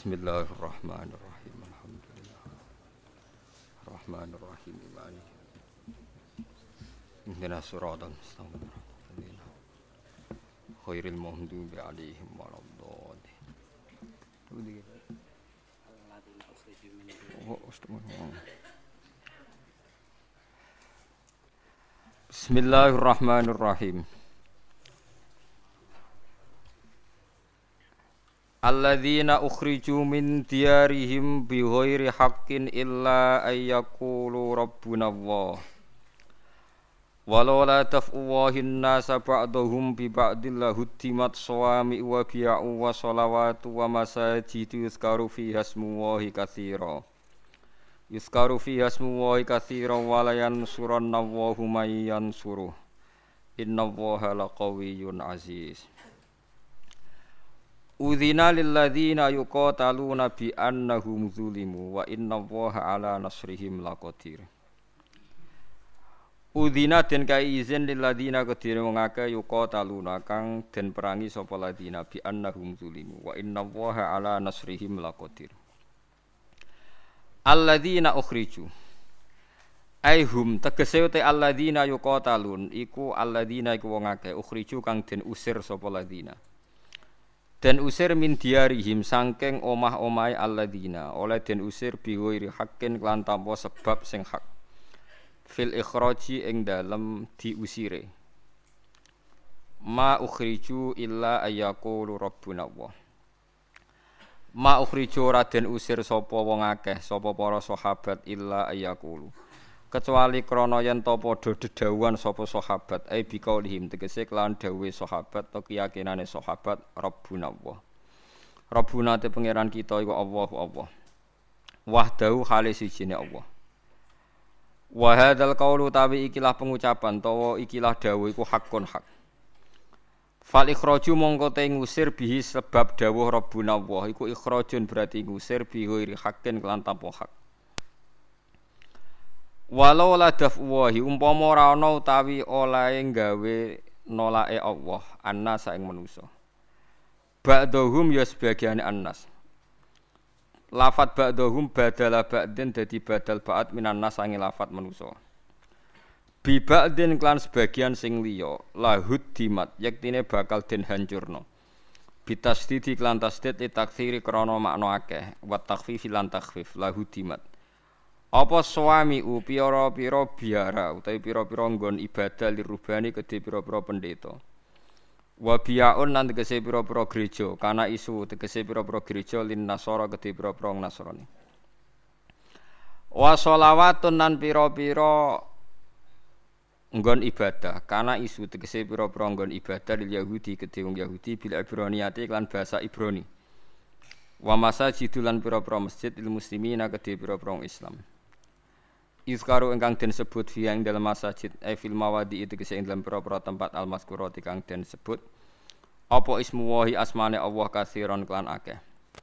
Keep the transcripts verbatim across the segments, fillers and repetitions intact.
Bismillahirrahmanirrahim. Alhamdulillah. Rahmanirrahim. Maliki. Ihdinas siratal mustaqim. Khairil maghdubi 'alaihim waladdallin. Bismillahirrahmanirrahim. Alladzina ukhriju min diyarihim bighairi haqqin illa ayyaqulu rabbuna Allah. Walau la taf'uwahin nasa ba'dahum bi ba'dil lahuddimat sawami wa biya'u wa salawatu wa masajidu yuzkaru fiha ismullahi katsira. Yuzkaru fiha ismullahi katsira wa la yansuranna Allahu may yansuruh. Innallaha laqawiyyun aziz. Udzina lil ladzina yuqataluna bi annahum zulimu wa innallaha ala nasrihim laqadir. Udzina den kai izin lil ladzina kedire wong akeh yuqataluna kang den perangi sapa ladzina bi annahum zulimu wa innallaha ala nasrihim laqadir. Alladzina ukhriju aihum tegese te alladzina yuqatalun iku alladzina iku wong akeh ukhriju kang den usir sapa ladzina. Den usir min diarihim sangking omah-omahe alladzina oleh den usir biwiri hakin lan tanpa sebab sing hak fil ikhraji ing dalem diusire ma ukhriju illa ayyaqulu rabbuna Allah. Ma ukhriju ora den usir sapa wong akeh sapa para sahabat illa ayyaqulu kecuali krana yen ta padha dedhawuhan sapa sahabat ai biqaulihim tegese kelawan dawuhe sahabat to keyakinane sahabat rabbuna Allah. Rabbuna te pangeran kita iku Allahu Allah. Wahdahu khali sijine Allah. Wa hadzal qaulu tawi ikilah pengucapan tawa ikilah dawuh iku hakun hak. Fal ikhraju mongko te ngusir bihi sebab dawuh rabbuna Allah iku ikhrajun berarti ngusir bi ghairi haqqin kelan tanpa hak. Walau la daf'uwahi umpama ora ana utawi olahe gawe nolake Allah annas ing manusa. Ba'dhum ya sebagiane annas. Lafat ba'dhum badala ba'din dadi badal ba'at minan nas sange lafat manusa. Bi ba'din klan sebagian sing liya lahud dimat yektine bakal den hancurna. Bitasdidi klan tasdid takthiri krana makna akeh wa takhfifi lan takhfif lahud dimat. Apa suami u pira-pira biara utawi pira-pira nggon ibadah lirubani kedhe pira-pira pendeta. Wa biyaun lan tegese pira-pira gereja, kana isu tegese pira-pira gereja lin nasara kedhe pira-pira Nasrani. Wa sholawatun lan pira-pira nggon ibadah, kana isu tegese pira-pira nggon ibadah lil Yahudi kedhe wong Yahudi bil Ibraniyati lan basa Ibrani. Wa masajidul lan pira-pira masjid lil muslimina kedhe pira-pira Islam. Izkaru ingkang den sebut fi ing dalam masjid ai fil mawadi itu kese ing dalam pira-pira tempat al-mazkurati kang den sebut apa ismu wahi asmane Allah katsiron kelan akeh.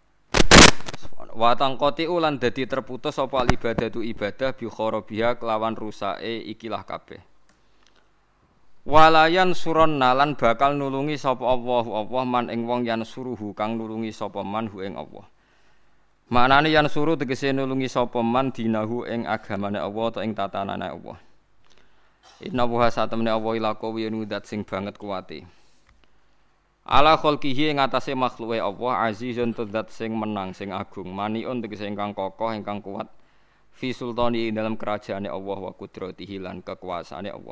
Wa tangqati ulan dadi terputus apa ibadatu ibadah bi kharabiha kelawan rusake ikilah kabeh. Walayan suronna lan bakal nulungi sapa Allahu Allah man ing wong yan suruhu kang nulungi sapa man hu ing Allah. Maknane yan suruh tegese nulungi sapa man dinahu ing agamane Allah ta ing tatanane Allah. Inna wa satamne Allah ila qawiyun dat sing banget kuwate. Ala khalqihi ing atase makhluke Allah azizun tudzat sing menang sing agung maniun tegese ingkang kokoh ingkang kuat fi sultani dalam kerajaane Allah wa qudratihi lan kekuasaane Allah.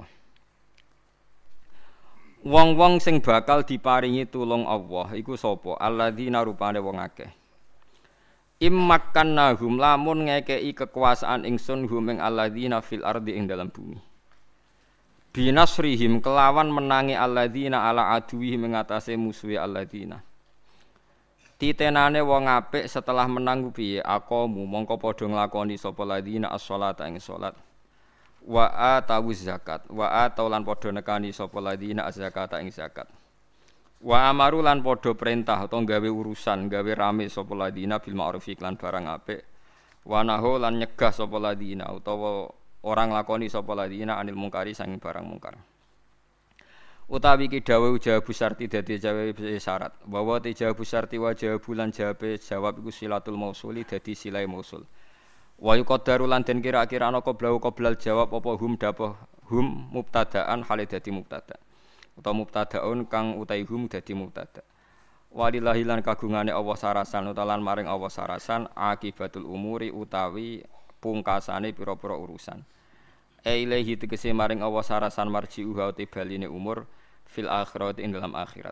Wong-wong sing bakal diparingi tulung Allah iku sapa? Alladzina rupane wong akeh. Immakkannahum lamun ngekei kekuasaan ingsun hum ing alladzina fil ardi ing dalam bumi. Binasrihim kelawan menangi alladzina ala aduwihim ing atase musuhe alladzina. Titenane wong apik setelah menang piye aqamu mongko padha nglakoni sapa alladzina as-shalata ing salat. Wa atawuz zakat wa ataulan padha nekani sapa alladzina az-zakata ing zakat. Wa amaru lan padha perintah utawa gawe urusan gawe rame sapa ladina bil ma'ruf lan barang apik wa nahu lan nyegah sapa ladina utawa orang lakoni sapa ladina anil mungkari sang barang mungkar utawi ki dawuh jawabu syarti dadi jawab syarat wa wa te jawabu syarti wa jawabu lan jawabe jawab iku silatul mausuli dadi silai mausul wa yuqaddaru lan den kira-kira ana qoblau qoblal jawab apa hum dapoh hum mubtadaan hale dadi mubtada utawa mubtadaun kang utai hum dadi mubtada walillahi lan kagungane Allah sarasan utalan maring Allah sarasan akibatul umuri utawi pungkasane pira-pira urusan ailehi tegese maring Allah sarasan marji'uha te baline umur fil akhirat ing dalam akhirat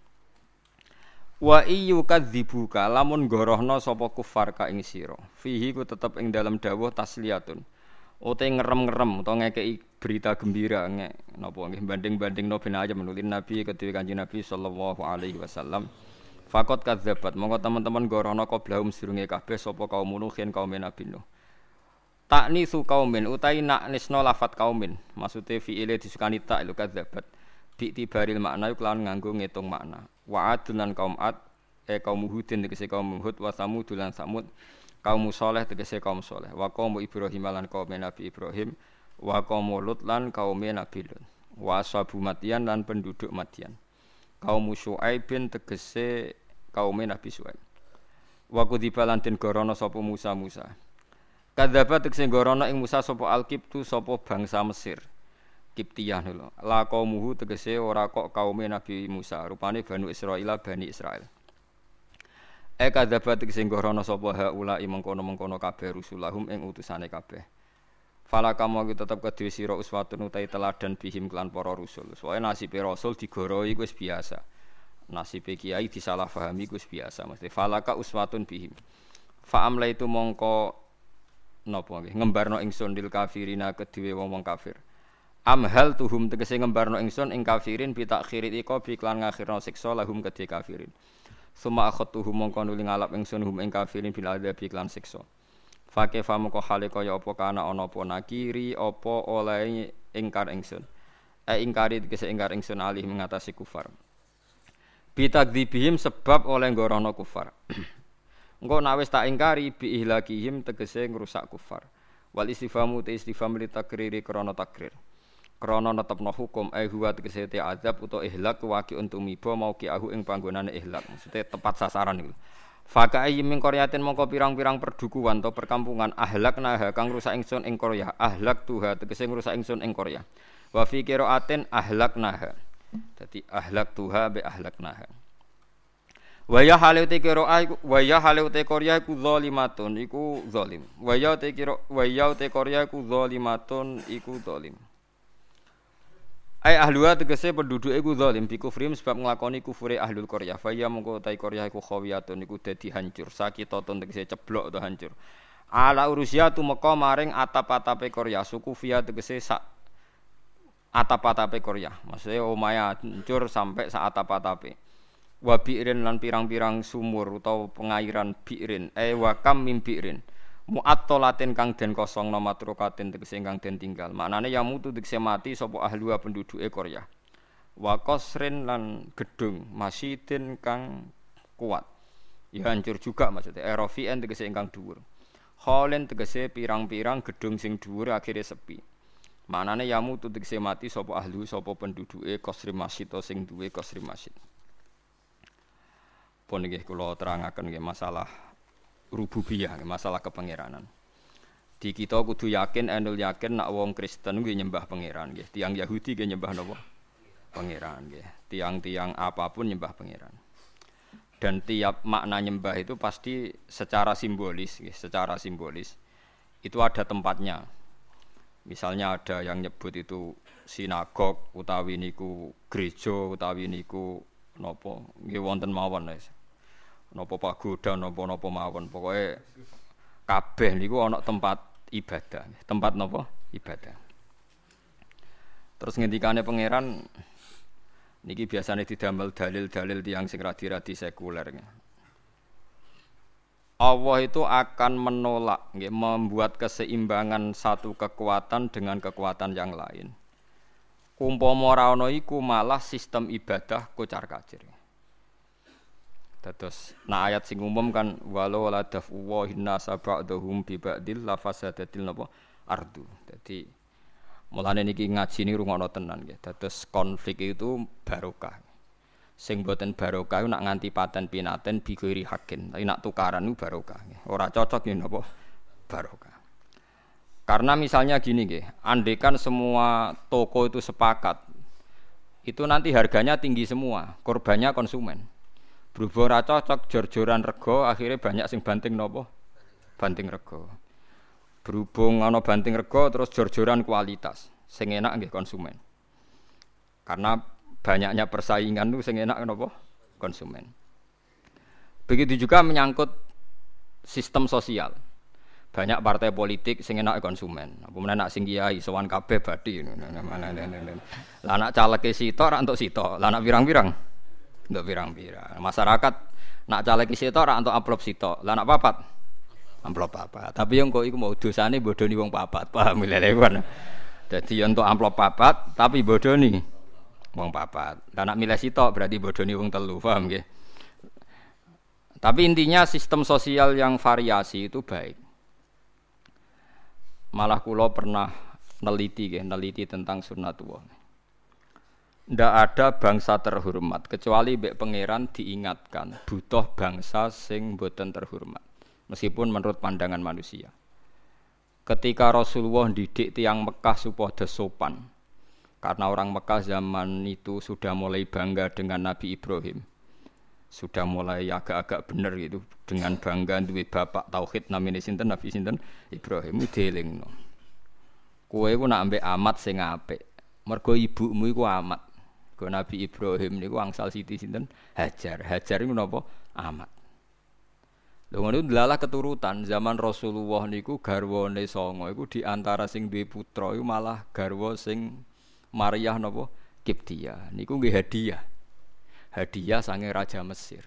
wa iyu kadzibuka lamun gorohna sapa kufar ka ing sira fihi ku tetep ing dalam dawuh tasliyatun ote ngerem-ngerem utawa ngekeki berita gembira nggih napa nggih banding-bandingno ben aja menulin nabi kedue kanjeng nabi sallallahu alaihi wasallam faqat kadzabat monggo teman-teman gorohna qoblahum sedurunge kabeh sapa kaum nuhin kaum nabi nuh takni su kaumin utai nak nisno lafat kaumin maksude fiile disukani tak lu kadzabat bi tibaril makna iku lan nganggo ngitung makna wa adlan kaum ad e kaum hudin tegese kaum hud wa samud lan samud kaum saleh tegese kaum saleh wa kaum ibrahim lan kaum nabi ibrahim wa kaum lut lan kaum nabi lut wa ashabu madian lan penduduk madian kaum syuaib bin tegese kaum nabi syuaib wa kudibalan den gorono sapa Musa Musa kadzabat tegese gorono ing Musa sapa Al-Qibtu sapa bangsa Mesir. Kiptiyah lho. La qaumuhu tegese ora kok kaume Nabi Musa, rupane Banu Israil Bani Israil. E kadzabat tegese gorono sapa haula mengkono-mengkono kabeh rusulahum ing utusane kabeh. Fala kamu tetep kedue sira uswatun utai teladan bihim kelan para rasul. Soale nasibe rasul digoroi wis biasa. Nasibe kiai disalahpahami wis biasa. Mesti falaka uswatun bihim. Fa amla itu mongko napa nggih ngembarno ingsun lil kafirina kedue wong-wong kafir amhal tuhum tegese ngembarno ingsun ing kafirin bi takhirit iko bi klan ngakhirno siksa lahum kedue kafirin summa akhatuhum mongko nuli ngalap ingsun hum ing kafirin bil adzabi klan siksa fake famoko hale kaya apa kana ana apa nakiri apa oleh ingkar ingsun e ingkari tegese ingkar ingsun alih mengatasi kufar bi takdzibihim sebab oleh ngorono kufar engko nek wis tak ingkari bi ihlakihim tegese ngrusak kufar wal istifamu te istifham li takriri krana takrir krana netepno hukum ai huwa tegese te azab utawa ihlak waqi untumiba mau ki ahu ing panggonane ihlak maksude tepat sasaran niku faka ayyin qaryatin mongko pirang-pirang perdukuhan atau perkampungan ahlakna kang ngrusak ingsun ing Korea ahlak tuha tegese ngrusak ingsun ing Korea wa fi qiraatin ahlaknaha dadi ahlak tuha be ahlaknaha wa ya halu te qira'a wa ya halu te Korea iku zalimatun iku zalim wa ya te qira wa ya te Korea iku zalimatun iku zalim ai ahluha tegese penduduk iku zalim bi kufrim sebab nglakoni kufure ahlul Korea fa ya mongko te Korea iku khawiyatun iku dadi hancur sakitatun tegese ceblok utawa hancur ala urusia tumeka maring atap-atape Korea suku via tegese sak atap-atape Korea maksudnya omahe hancur sampai sak atap-atape wa bi'rin lan pirang-pirang sumur utawa pengairan bi'rin eh wa kam min bi'rin mu'attalatin kang den kosong nomatrukatin tegese kang den tinggal maknane ya mutu tegese mati sapa ahlua penduduke Korea wa qasrin lan gedung masjidin kang kuat ya hancur juga maksudnya aerofian tegese ingkang dhuwur kholen tegese pirang-pirang gedung sing dhuwur akhire sepi maknane ya mutu tegese mati sapa ahlu sapa penduduke qasri masjid sing duwe qasri masjid. Pun nggih kula terangaken nggih masalah rububiyah, masalah kepangeranan. Di kita kudu yakin enul yakin nak wong Kristen nggih nyembah pangeran nggih. Tiang Yahudi nggih nyembah napa? Pangeran nggih. Tiang-tiang apapun nyembah pangeran. Dan tiap makna nyembah itu pasti secara simbolis nggih, secara simbolis. Itu ada tempatnya. Misalnya ada yang nyebut itu sinagog utawi niku gereja utawi niku napa nggih wonten mawon wis. Napa pagoda napa-napa mawon pokoke kabeh niku ana tempat ibadah tempat napa ibadah terus ngendikane pangeran niki biasane didamel dalil-dalil tiyang sing radi-radi sekuler Allah itu akan menolak nggih membuat keseimbangan satu kekuatan dengan kekuatan yang lain umpama ora ana iku malah sistem ibadah kocar-kacir. Dados nah ayat sing umum kan walau la dafu wa hinna sab'dhum bi ba'dil la fasadatil napa ardu. Dadi Mulane niki ngaji ni rungokno tenan nggih. Dados konflik itu barokah. Sing boten barokah nak nganti paten pinaten bigori hakin. Tapi nak tukaran itu barokah. Ora cocok ya napa barokah. Karena misalnya gini nggih, andekan semua toko itu sepakat, itu nanti harganya tinggi semua, korbannya konsumen. Berhubung ora cocok jor-joran rego, akhirnya banyak sing banting napa? Banting rego. Berhubung ana banting rego terus jor-joran kualitas, sing enak nggih konsumen. Karena banyaknya persaingan itu sing enak napa? Konsumen. Begitu juga menyangkut sistem sosial. Banyak partai politik sing enak konsumen. Apa meneh nak sing kiai sowan kabeh bathi. Lah nak caleke sitok ra entuk sitok. Lah nak pirang-pirang entuk pirang-pirang. Masyarakat nak caleke sitok ra entuk amplop sitok. Lah nak papat amplop papat. Tapi yang kok iku mau dosane bodoni wong papat. Paham lho kan. Dadi entuk amplop papat tapi bodoni wong papat. Lah nak milih sitok berarti bodoni wong telu. Paham nggih? Tapi intinya sistem sosial yang variasi itu baik. Malah kula pernah neliti nggih, neliti tentang sunnatullah. Ndak ada bangsa terhormat kecuali mbek pangeran diingatkan butuh bangsa sing boten terhormat. Meskipun menurut pandangan manusia. Ketika Rasulullah didik tiyang Mekah supaya sopan. Karena orang Mekah zaman itu sudah mulai bangga dengan Nabi Ibrahim. Sudah mulai agak-agak bener gitu dengan bangga duwe bapak tauhid namine sinten Nabi sinten Ibrahim dielingno. Kowe ku nak ambek amat sing apik. Mergo ibumu iku amat. Go Nabi Ibrahim niku angsal siti sinten Hajar. Hajar iku napa? Amat. Lha ngono delalah keturutan zaman Rasulullah niku garwane sanga iku di antara sing duwe putra iku malah garwa sing Maryah napa? Kiptia. Niku nggih hadiah. Hadiah sange Raja Mesir.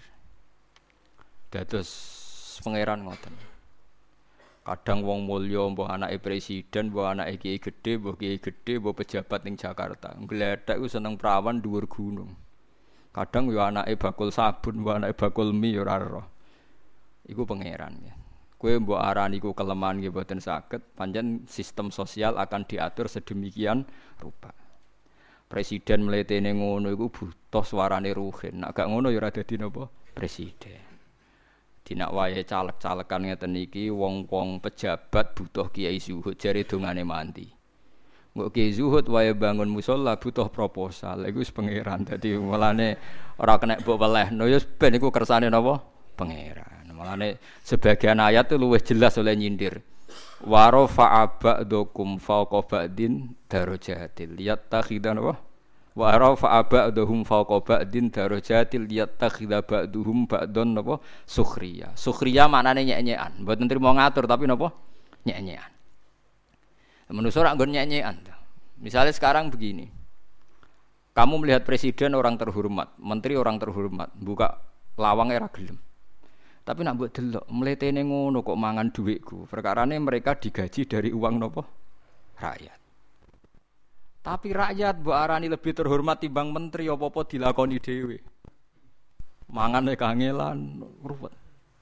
Dados pangeran ngoten. Kadang wong mulya mbah anake presiden, mbah anake kiai gedhe, mbah kiai gedhe, mbah pejabat ning Jakarta. Ngledhek ku seneng prawan dhuwur gunung. Kadang yo anake bakul sabun, mbah anake bakul mie yo ora roh. Iku pangeran ya. Kowe mbok arani iku kelemahan nggih boten saged, pancen sistem sosial akan diatur sedemikian rupa. Presiden mletene ngono iku butuh suarane ruhin. Nek gak ngono ya ora dadi napa presiden. Dinak wayahe caleg-calekan ngeten iki wong-wong pejabat butuh kiai zuhud jare dongane mandi. Engko kiai zuhud wayahe bangun musala butuh proposal. Iku wis pangeran. Dadi mulane ora kena mbok welehno ya ben iku kersane napa pangeran. Mulane sebagian ayat itu luwih jelas oleh nyindir. Wa rafa'a ba'dukum fawqa ba'din darajatil yattakhidhan wa wa rafa'a ba'duhum fawqa ba'din darajatil yattakhidha ba'duhum ba'don napa sukhriya. Sukhriya maknane nyek-nyekan, mboten trimo ngatur tapi napa nyek-nyekan. Manusa ora nggon nyek-nyekan. Misalnya sekarang begini. Kamu melihat presiden orang terhormat, menteri orang terhormat, buka lawang era gelem. Tapi nak mbok delok mletene ngono kok mangan dhuwitku. Perkarane mereka digaji dari uang nopo? Rakyat. Tapi rakyat mbok arani lebih terhormat timbang menteri apa-apa dilakoni dhewe. Mangane kangelan ruwet.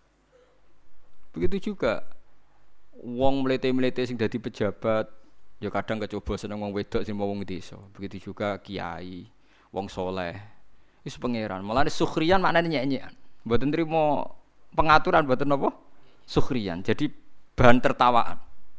Begitu juga wong mlete-mlete sing dadi pejabat ya kadang kecoba seneng wong wedok sing wong desa. Begitu juga kiai, wong soleh. Wis pangeran. Mulane sukhriyan maknane nyek-nyekan. Mboten trimo pengaturan mboten napa? Sukhriyan. Jadi bahan tertawaan.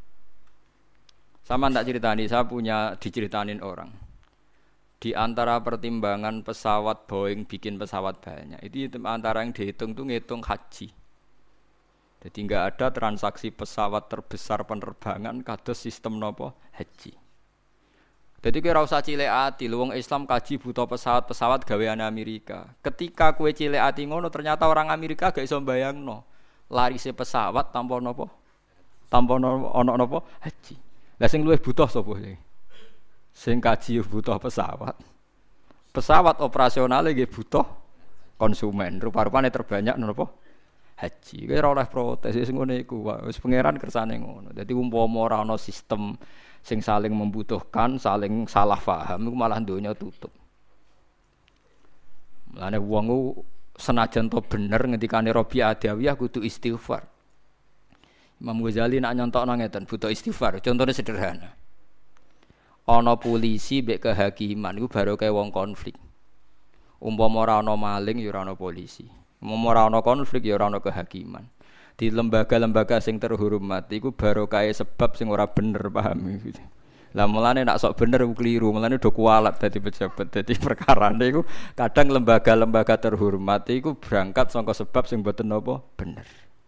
Sama tak ceritani, saya punya diceritanin orang. Di antara pertimbangan pesawat Boeing bikin pesawat banyak, itu antara yang dihitung tuh ngitung haji. Jadi enggak ada transaksi pesawat terbesar penerbangan kados sistem napa? Haji. Jadi kira usah cilik ati, wong Islam kaji butuh pesawat-pesawat gaweane Amerika. Ketika kue cilik ati ngono, ternyata orang Amerika gak iso mbayangno. Larise pesawat tanpa napa? Tanpa ana napa? Haji. Lah sing luwih butuh sapa sing? Sing kaji butuh pesawat. Pesawat operasionale nggih butuh konsumen. Rupa-rupane terbanyak napa? Haji. Kira oleh protes sing ngene iku. Wis pangeran kersane ngono. Dadi umpama ora ana sistem sing saling membutuhkan, saling salah paham iku malah donya tutup. Mulane wong ku senajan to bener ngendikane Rabi Adawiyah kudu istighfar. Imam Ghazali nak nyontokno ngeten, butuh istighfar. Contohnya sederhana. ana polisi mbek kehakiman iku barokah wong konflik. Umpama ora ana maling ya ora ana polisi. Umpama ora ana konflik ya ora ana kehakiman. Di lembaga-lembaga sing terhormat iku barokah sebab sing ora bener, paham iki. Lah mulane nek sok bener keliru, mulane do kualat dadi pejabat. Dadi perkarane iku kadang lembaga-lembaga terhormat iku berangkat saka sebab sing mboten napa bener.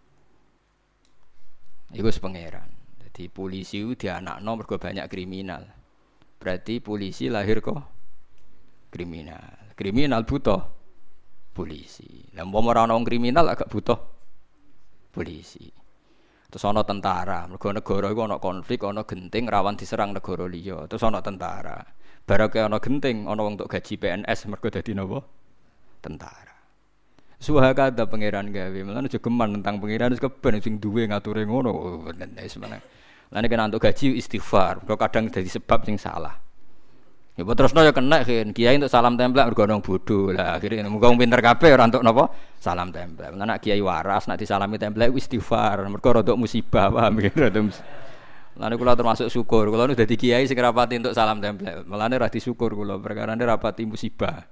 Iku sepengeran. Dadi polisi ku dianakno mergo banyak kriminal. Berarti polisi lahir kok kriminal. Kriminal butuh polisi. Lah umpama ora ana kriminal agak butuh polisi. Terus ana tentara, mergo negara iku ana konflik, ana genting rawan diserang negara liya. Terus ana tentara. Barake ana genting, ana wong entuk gaji P N S mergo dadi napa? Tentara. Suhakada pangeran gawe. Mulane aja geman tentang pangeran wis keben sing duwe ngature ngono. Wis meneh. Lane kena entuk gaji istighfar, kok kadang dadi sebab sing salah. Ya terusno ya kena kan, kiai untuk salam templek mergo nang bodho. Lah akhire muga wong pinter kabeh ora entuk napa? Salam templek. Lah nek kiai waras nek disalami templek istighfar, mergo rada musibah, paham ya rada musibah. Lane kula termasuk syukur, kula nu dadi kiai sing rapati entuk salam templek. Mulane ra disyukur kula, perkarane rapati musibah.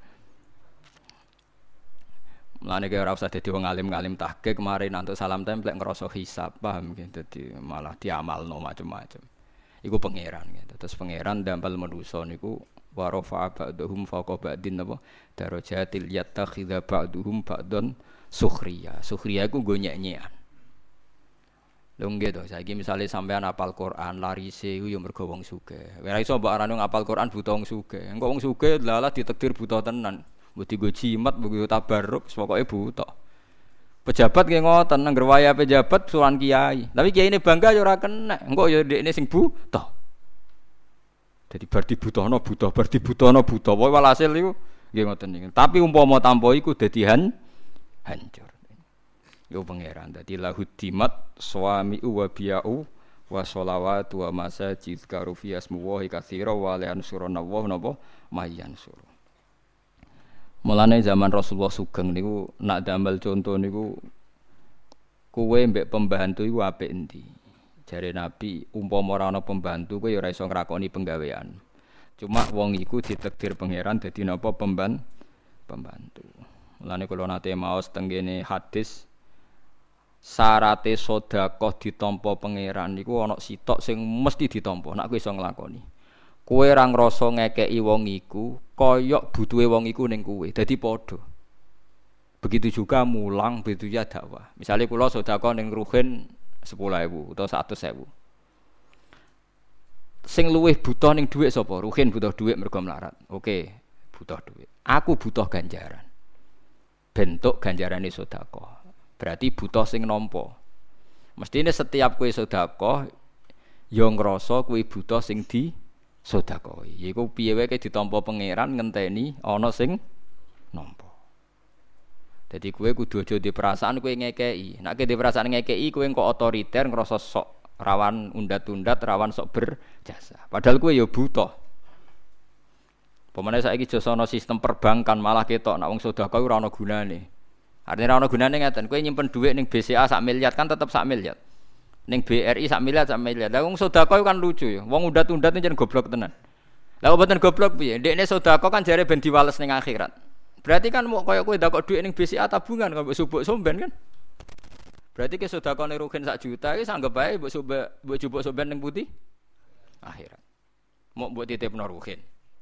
Mulane kaya ora usah dadi wong alim-alim tahqiq kemarin antuk salam templek ngrasa hisab, paham gitu. Dadi malah diamalno macam-macam. Iku pangeran gitu. Terus pangeran dampal manusa niku wa rafa'a ba'dhum fawqa ba'din napa darajatil yattakhidha ba'dhum ba'don sukhriya. Sukhriya iku nggo nyek-nyekan. Lho nggih to, saiki misale sampean hafal Quran larise iku ya mergo wong sugih. Ora iso mbok arani ngapal Quran buta wong sugih. Engko wong sugih lalah ditakdir buta tenan. Mbok digo jimat, mbok tabarruk, pokoke buta. Pejabat nggih ngoten, nangger waya pejabat suran kiai. Tapi kiai ini bangga ya ora kena. Engko ya ndekne sing buta. Jadi bar dibutono buta, bar dibutono buta. Pokoke walhasil iku nggih ngoten niku. Tapi umpama tanpa iku dadi han hancur. Yo pangeran dadi lahudimat suami wa biau wa sholawat wa masajid karufi asmullahi katsira wa la yansuruna wa napa mayansur. Mulane zaman Rasulullah sugeng niku nak damel contoh niku kowe mbek pembantu iku apik endi? Jare Nabi, umpama ora ana pembantu kowe ya ora iso ngrakoni penggawean. Cuma wong iku ditakdir pangeran dadi napa pemban pembantu. Mulane kula nate maos teng kene hadis syarate sedekah ditampa pangeran niku ana sitok sing mesti ditampa nek kowe iso nglakoni. Kowe ora ngrasa ngekeki wong iku kaya butuhe wong iku ning kowe. Dadi padha. Begitu juga mulang, begitu ya dakwah. Misale kula sedekah ning ruhin sepuluh ribu atau seratus ribu. Sing luwih butuh ning dhuwit sapa? Ruhin butuh dhuwit mergo melarat. Oke, butuh dhuwit. Aku butuh ganjaran. Bentuk ganjarane sedekah. Berarti butuh sing nampa. Mestine setiap kowe sedekah ya ngrasa kowe butuh sing di sedekahi. Iku piye wae ditampa pangeran ngenteni ana sing nampa. Dadi kowe kudu aja di perasaan kowe ngekeki. Nek kowe di perasaan ngekeki kowe kok otoriter ngrasa sok rawan undat-undat, rawan sok berjasa. Padahal kowe ya butuh. Pemene saiki jasa ana sistem perbankan malah ketok nek wong sedekah ora ana gunane. Artinya ora ana gunane ngeten, kowe nyimpen dhuwit ning B C A sak miliar kan tetep sak miliar. Ning B R I sak miliar sak miliar. Lah wong sedekah kan lucu ya. Wong undat-undat jan goblok tenan. Lah kok mboten goblok piye? Ndekne sedekah kan jare ben diwales ning akhirat. Berarti kan mau kaya kowe ndakok dhuwit ning B C A tabungan kok mbok subuk somben kan. Berarti ke sedekah ning rugen sak juta iki sanggep bae mbok subuk mbok jupuk somben ning pundi? Akhirat. Mau mbok titipno rugen.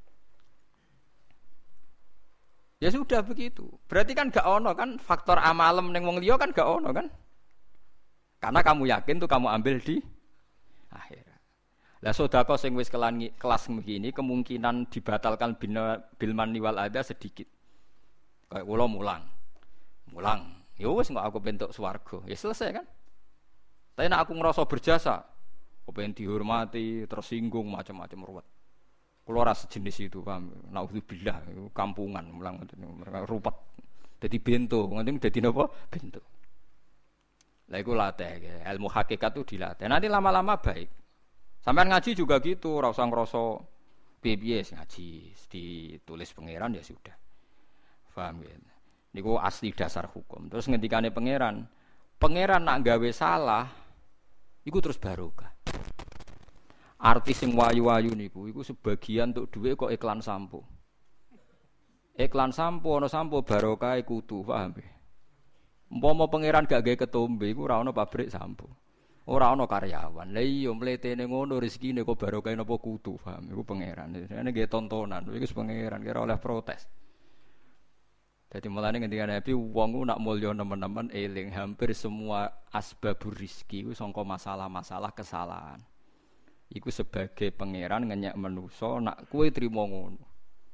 Ya sudah begitu. Berarti kan gak ono kan faktor amalem ning wong liya kan gak ono kan? Karena kamu yakin tuh kamu ambil di akhirat. Lah sedekah sing wis kelas begini kemungkinan dibatalkan bil manni wal adza sedikit. Kayak kula mulang. Mulang. Ya wis kok aku bentuk swarga. Ya selesai kan? Tapi nek aku ngerasa berjasa, kepen dihormati, tersinggung macam-macam ruwet. Kula ora sejenis itu, paham. Nauzubillah, kampungan mulang ngoten ruwet. Dadi bento, ngoten dadi napa? Bento. Lah iku latih, ilmu hakikat itu dilatih. Nanti lama-lama baik. Sampean ngaji juga gitu, ora usah ngrasa piye-piye ngaji, ditulis pangeran ya sudah. Paham ya? Niku asli dasar hukum. Terus ngendikane pangeran, pangeran nak gawe salah iku terus barokah. Artis sing wayu-wayu niku iku sebagian untuk dhuwit kok iklan sampo. Iklan sampo ana sampo barokah kudu, paham nggih? Umpama pangeran gak gawe ketombe iku ora ana pabrik sampo. Ora ana karyawan. Lah iya mletene ngono rezekine kok barokah napa kudu, paham? Iku pangeran. Ini nggih tontonan, iku wis pangeran kira oleh protes. Jadi mulane ngendikane Nabi wong ku nak mulya nemen-nemen eling hampir semua asbabur rizki ku sangka masalah-masalah kesalahan. Iku sebagai pangeran ngenyek manusa nak kowe trimo ngono.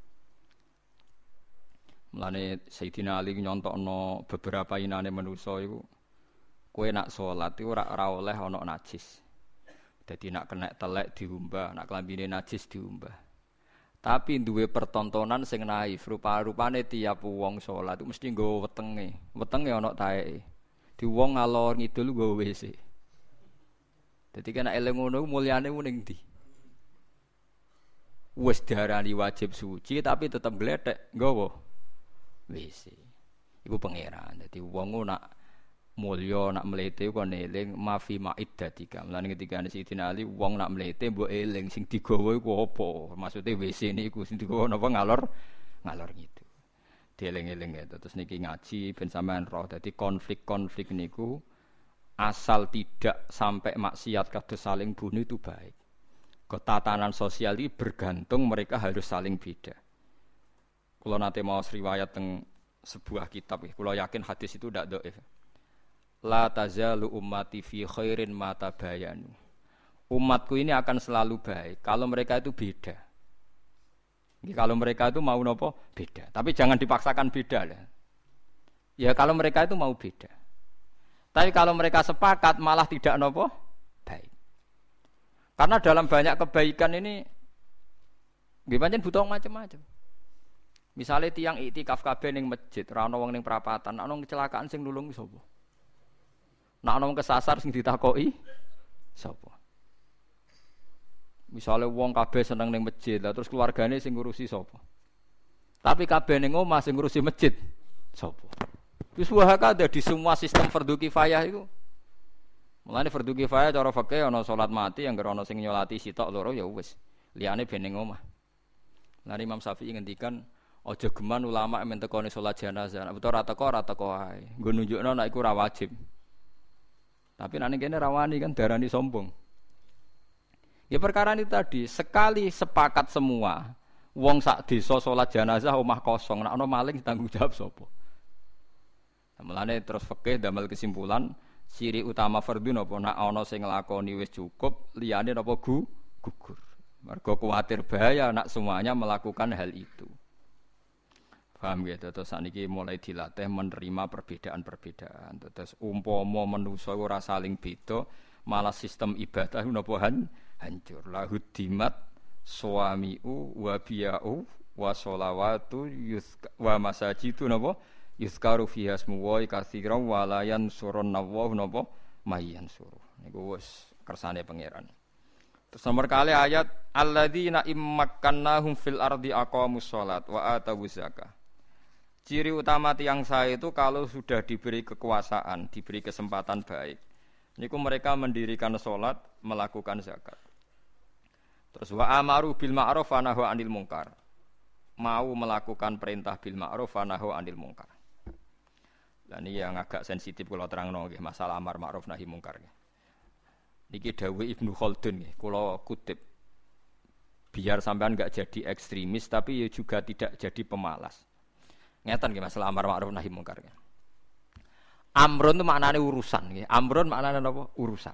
Mulane Sayyidina Ali nyontokno beberapa inane manusa iku kowe nak salat iku ora ora oleh ana najis. Dadi nak kena telek diumbah, nak klambine najis diumbah. Tapi duwe pertontonan sing naif, rupa-rupane tiap wong salat iku mesti nggawa wetenge. Wetenge ana taeke. Di wong ngalor ngidul nggawa W C. Dadi kena eling ngono mulyane ning ndi? Wis diarani wajib suci tapi tetep glethek nggawa W C. Iku pangeran. Dadi wong nak mulya nak mlete kok eling mafi ma'iddatika. Mulane ketika Sayyidina Ali wong nak mlete mbok eling sing digawa iku apa? Maksude W C niku sing digawa napa ngalor ngalor gitu. Dieling-eling ya. Terus niki ngaji ben sampean roh. Dadi konflik-konflik niku asal tidak sampai maksiat kados saling bunuh itu baik. Ketatanan sosial ini bergantung mereka harus saling beda. Kalau nanti mau riwayat teng sebuah kitab, kalau yakin hadis itu tidak dhaif. La tazalu ummati fi khairin ma tabayanu. Umatku ini akan selalu baik kalau mereka itu beda. Kalau mereka itu mau nopo beda, tapi jangan dipaksakan beda lah. Ya kalau mereka itu mau beda. Tapi kalau mereka sepakat malah tidak nopo baik. Karena dalam banyak kebaikan ini nggih pancen butuh macam-macam. Misalnya tiang iktikaf kabeh ning masjid, ora ana wong ning perapatan, ana kecelakaan sing nulung sapa? Nek ana wong kesasar sing ditakoki sapa? Misalnya wong kabeh seneng ning masjid, lah terus keluargane sing ngurusi sapa? Tapi kabeh ning omah sing ngurusi masjid sapa? Wis wahaka ada di semua sistem fardhu kifayah itu. Mulane fardhu kifayah cara fikih ana salat mati yang ana sing nyolati sitok loro ya wis. Liyane ben ning omah. Lah Imam Syafi'i ngendikan aja geman ulama men tekone salat jenazah. Nek beto ora teko ora teko wae. Nggo nunjukno nek iku ora wajib. Tapi nek kene rawani kan darani sombong. Ya perkara ini tadi, sekali sepakat semua, wong sak desa salat jenazah omah kosong, nek ana maling tanggung jawab sapa? Mulane terus fikih damel kesimpulan ciri utama fardhu napa nek ana sing nglakoni wis cukup liyane napa gu gugur. Mergo kuwatir bahaya nek semuanya melakukan hal itu. Paham ya, terus saniki mulai dilatih menerima perbedaan-perbedaan. Terus umpama manusa ora saling beda, malah sistem ibadah napa hancur. Lahudimat suamiu wa biya'u wa sholawatu wa masajidu napa yuzkaru fiha ismu wa katsiran wa la yansurunna wa napa mayyansuru. Niku wis kersane pangeran. Terus nomor kali ayat alladzina immakkannahum fil ardi aqamus shalat wa atawuz zakah. Ciri utama tiang saya itu kalau sudah diberi kekuasaan, diberi kesempatan baik. Niku mereka mendirikan salat, melakukan zakat. Terus wa amaru bil ma'ruf wa nahu 'anil munkar. Mau melakukan perintah bil ma'ruf wa nahu 'anil munkar. Lah niki yang agak sensitif kula terangno nggih masalah amar ma'ruf nahi mungkar nggih. Niki dawuh Ibnu Khaldun nggih kula kutip. Biar sampean enggak jadi ekstremis tapi ya juga tidak jadi pemalas. Ngeten nggih masalah amar ma'ruf nahi mungkar nggih. Amrun itu maknane urusan nggih. Amrun maknane napa? Urusan.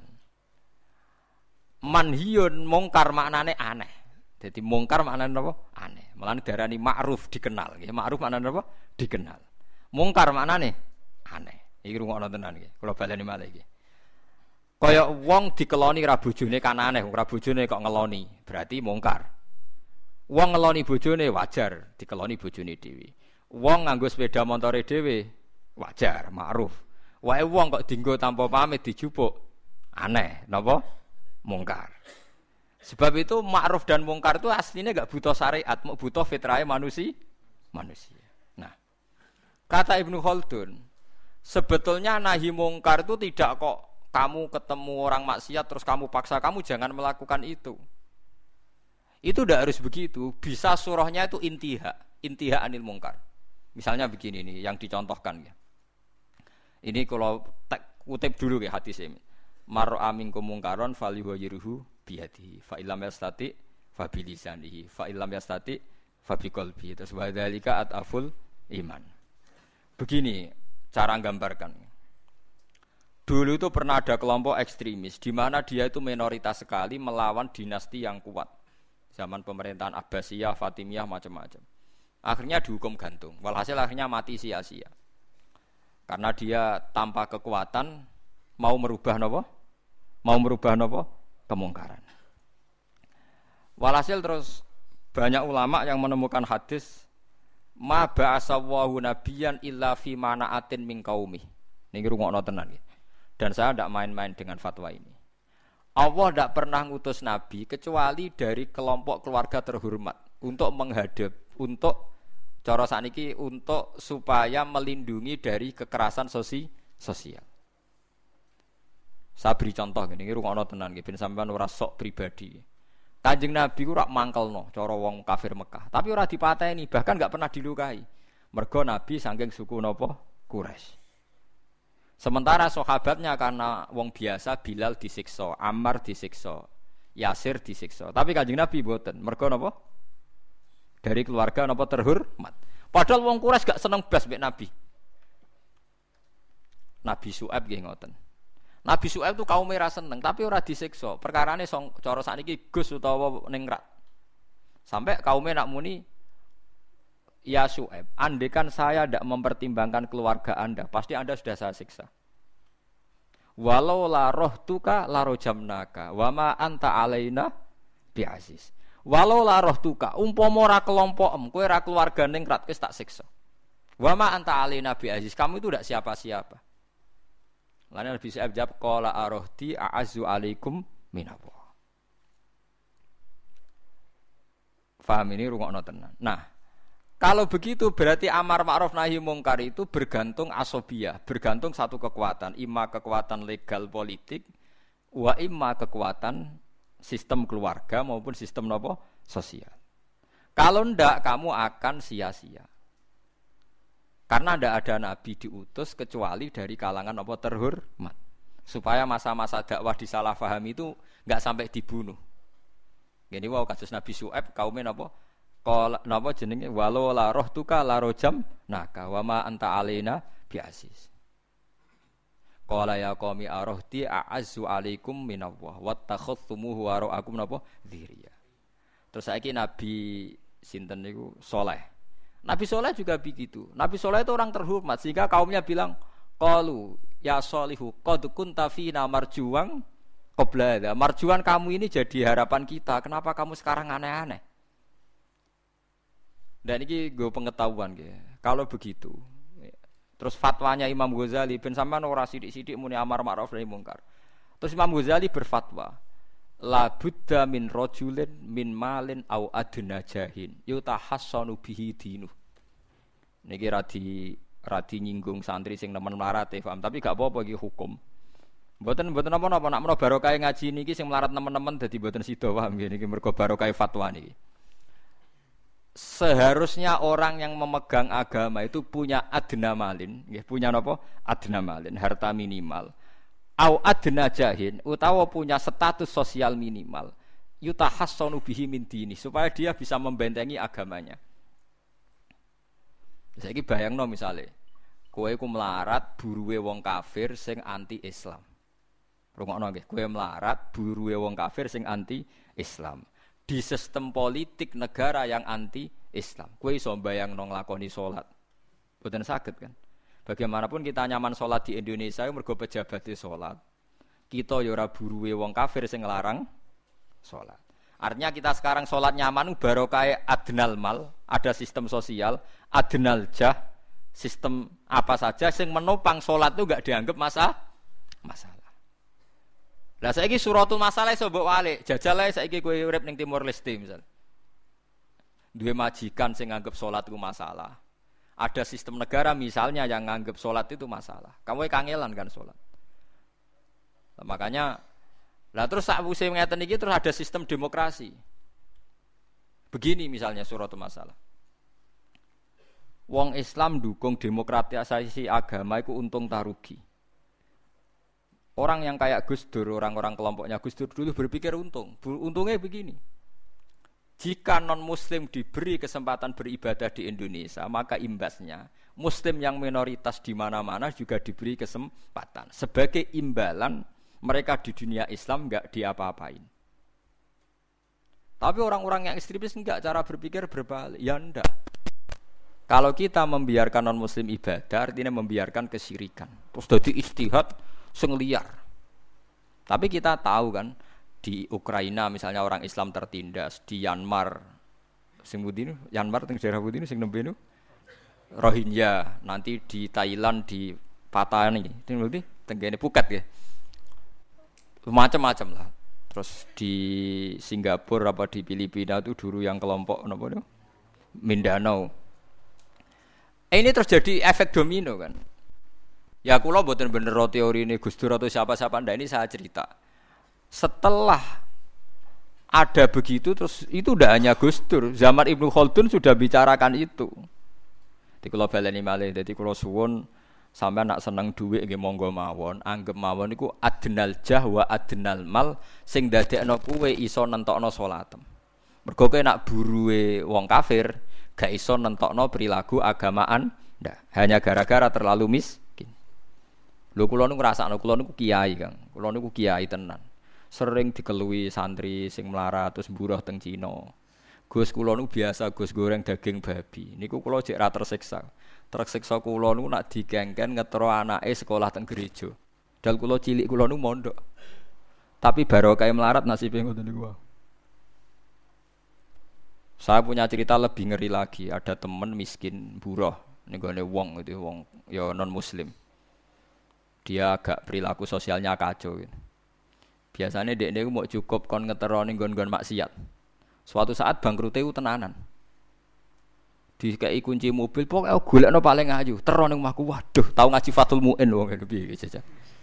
Manhiyun mungkar maknane aneh. Jadi mungkar maknane napa? Aneh. Mulane darani ma'ruf dikenal nggih. Ma'ruf maknane napa? Dikenal. Mungkar maknane aneh. Iki rungokno tenan iki. Kula baleni malih iki. Kaya wong dikeloni ra bojone kan aneh, ra bojone kok ngeloni, berarti mungkar. Wong ngeloni bojone wajar, dikeloni bojone dhewe. Wong nganggo sepeda montore dhewe wajar, ma'ruf. Wae wong kok dienggo tanpa pamit dijupuk, aneh, napa? Mungkar. Sebab itu ma'ruf dan mungkar itu aslinya enggak butuh syariat, mau butuh fitrahe manusia. Manusia. Nah, kata Ibnu Khaldun, sebetulnya nahi mungkar itu tidak kok kamu ketemu orang maksiat terus kamu paksa kamu jangan melakukan itu. Itu tidak harus begitu. Bisa surahnya itu intiha, intiha anil mungkar. Misalnya begini nih yang dicontohkan ya. Ini kalau kutip dulu ya hadis ini. Mar amin kumungkaron falyughayyirhu biyadihi fa illam yastati fa bilisanihi fa illam yastati fa biqalbihi. Terus wa dzalika ataful iman. Begini cara gambarkan. Dulu itu pernah ada kelompok ekstremis di mana dia itu minoritas sekali melawan dinasti yang kuat. Zaman pemerintahan Abbasiyah, Fatimiyah macam-macam. Akhirnya dihukum gantung. Walhasil akhirnya mati sia-sia. Karena dia tanpa kekuatan mau merubah napa? Mau merubah napa? Kemungkaran. Walhasil terus banyak ulama yang menemukan hadis ma ba'asallahu nabiyyan illa fi mana'atin min qaumi. Niki rungokno tenan nggih. Dan saya tidak main-main dengan fatwa ini. Allah tidak pernah ngutus Nabi kecuali dari kelompok keluarga terhormat untuk menghadap, untuk cara saniki untuk supaya melindungi dari kekerasan sosi, sosial. Saya beri contoh gini, rungokno tenan nggih ben sampean ora sok pribadi. Kanjeng Nabi ku rak mangkelno cara wong kafir Mekah, tapi ora dipateni, bahkan enggak pernah dilukai. Mergo Nabi saking suku napa? Quraisy. Sementara sahabatnya karena wong biasa, Bilal disiksa, Ammar disiksa, Yasir disiksa. Tapi Kanjeng Nabi mboten. Mergo napa? Dari keluarga napa terhormat. Padahal wong Quraisy gak seneng blas mbek Nabi. Nabi Syuaib nggih ngoten. Nabi Syuaib itu kaum ora seneng, tapi ora disiksa. Perkarane cara sakniki Gus utawa ningrat. Sampai kaume nak muni ya Syuaib, andekan saya tidak mempertimbangkan keluarga Anda, pasti Anda sudah saya siksa. Walau la rohtuka la rojamnaka, wama anta alaina biaziz. Walau la rohtuka, umpama ora kelompokem, kowe ora keluarga ningrat, wis tak siksa. Wama anta alaina biaziz, kamu itu tidak siapa-siapa. Lalu Nabi Syuaib jawab, qala arohti a'azzu alaikum minallah. Faham ini rungokno tenan. Nah, kalau begitu berarti amar ma'ruf nahi mungkar itu bergantung asobiyah, bergantung satu kekuatan, imma kekuatan legal politik, wa imma kekuatan sistem keluarga maupun sistem nopo sosial. Kalau ndak kamu akan sia-sia. Karena ndak ada nabi diutus kecuali dari kalangan nopo terhormat, supaya masa-masa dakwah disalahfahami itu enggak sampai dibunuh. Gini wow kasus Nabi Syuaib kaumnya nopo Qala napa jenenge walau la rohtuka la rojam naka wa ma anta alaina biasis. Qala ya qaumi arohti a'azzu alaikum minallah wattakhadhtumuhu wara'akum napa dziriya. Terus saiki Nabi sinten niku Saleh. Nabi Saleh juga begitu. Nabi Saleh itu orang terhormat sehingga kaumnya bilang qalu ya Salihu qad kunta fina marjuwan qabla. Marjuwan kamu ini jadi harapan kita. Kenapa kamu sekarang aneh-aneh? Dan ini gue pengetahuan gitu. Kalau begitu, terus fatwanya Imam Ghazali, ben sampean ora sithik-sithik muni amar ma'ruf nahi mungkar. Terus Imam Ghazali berfatwa, la budda min rajulin min malin au adna jahin, yutahassanu bihi dinu. Niki radi radi nyinggung santri sing nemen melarat e, paham, tapi gak apa-apa iki hukum. Mboten mboten napa-napa, nak menawa barokah ngaji niki sing melarat nemen-nemen dadi mboten sida paham niki mergo barokah fatwa niki. Seharusnya orang yang memegang agama itu punya adna malin, nggih punya napa? Adna malin, harta minimal. Au adna jahin, utawa punya status sosial minimal. Yutahassanu bihi min dini, supaya dia bisa membentengi agamanya. Saiki bayangno misale, kowe iku melarat buruwe wong kafir sing anti-Islam. Rungokno nggih, kowe melarat buruwe wong kafir sing anti-Islam. Di sistem politik negara yang anti-Islam. Kowe iso mbayangno nglakoni salat. Mboten saged kan? Bagaimanapun kita nyaman salat di Indonesia mergo pejabat salat. Kita ya ora buruwe wong kafir sing nglarang salat. Artinya kita sekarang salat nyaman barokah adnal mal, ada sistem sosial, adnal jah, sistem apa saja sing menopang salat itu enggak dianggap masa masalah. Lah saiki suratul masalah iso mbok walik, jajal ae saiki kowe urip ning Timor Leste misal. Duwe majikan sing nganggep salat itu masalah. Ada sistem negara misalnya yang nganggep salat itu masalah. Kamu kangelan kan salat. Nah, makanya lah terus sakwise ngeten iki terus ada sistem demokrasi. Begini misalnya suratul masalah. Wong Islam dukung demokratisasi agama itu untung tarugi. Orang yang kayak Gus Dur, orang-orang kelompoknya Gus Dur dulu berpikir untung. Untungnya begini. Jika non-muslim diberi kesempatan beribadah di Indonesia, maka imbasnya muslim yang minoritas di mana-mana juga diberi kesempatan. Sebagai imbalan mereka di dunia Islam enggak diapa-apain. Tapi orang-orang yang ekstremis enggak, cara berpikir berbalik. Ya enggak. Kalau kita membiarkan non-muslim ibadah, artinya membiarkan kesyirikan. Terus jadi istihad sing liar. Tapi kita tahu kan, di Ukraina misalnya orang Islam tertindas, di Myanmar sing pundi niku, Myanmar teng daerah pundi niku sing nembe niku Rohingya, nanti di Thailand di Patani, teng pundi teng kene Phuket ya. Macam-macam lah. Terus di Singapura apa di Filipina itu dulu yang kelompok napa niku Mindanao. Eh, ini terjadi efek domino kan. Ya kula mboten bener teori ini Gus Dur atau siapa-siapa ndak, ini saya cerita. Setelah ada begitu terus itu tidak hanya Gus Dur, zaman Ibnu Khaldun sudah bicarakan itu. Di kula baleni malih, dadi kula suwun sampean nak seneng dhuwit nggih monggo mawon, anggap mawon iku adnal jah wa adnal mal sing dadekno kowe iso nentokno salatem. Mergo kowe nak buruwe wong kafir gak iso nentokno perilaku agamaan ndak, hanya gara-gara terlalu miskin. Lho kula niku ngrasakno, kula niku kiai, Kang. Kula niku kiai tenan. Sering dikelui santri sing melarat terus mburuh teng Cina. Gus kula niku biasa Gus goreng daging babi. Niku kula jek ra tersiksa. Tersiksa kula niku nak digengken ngetro anake sekolah teng gereja. Dal kula cilik kula niku mondok. Tapi barokah melarat nasibe ngoten niku. Saya punya cerita lebih ngeri lagi. Ada teman miskin buruh niku ne wong itu wong ya non muslim. Dia agak perilaku sosialnya kacau gitu. Biasanya dek dek mau cukup kon ngetero ning nggon-nggon maksiat. Suatu saat bangkrute ku tenanan. Dikei kunci mobil pokoke golekno paling ayu, tero ning omahku. Waduh, tau ngaji Fathul Muin wong ngene piye jajal.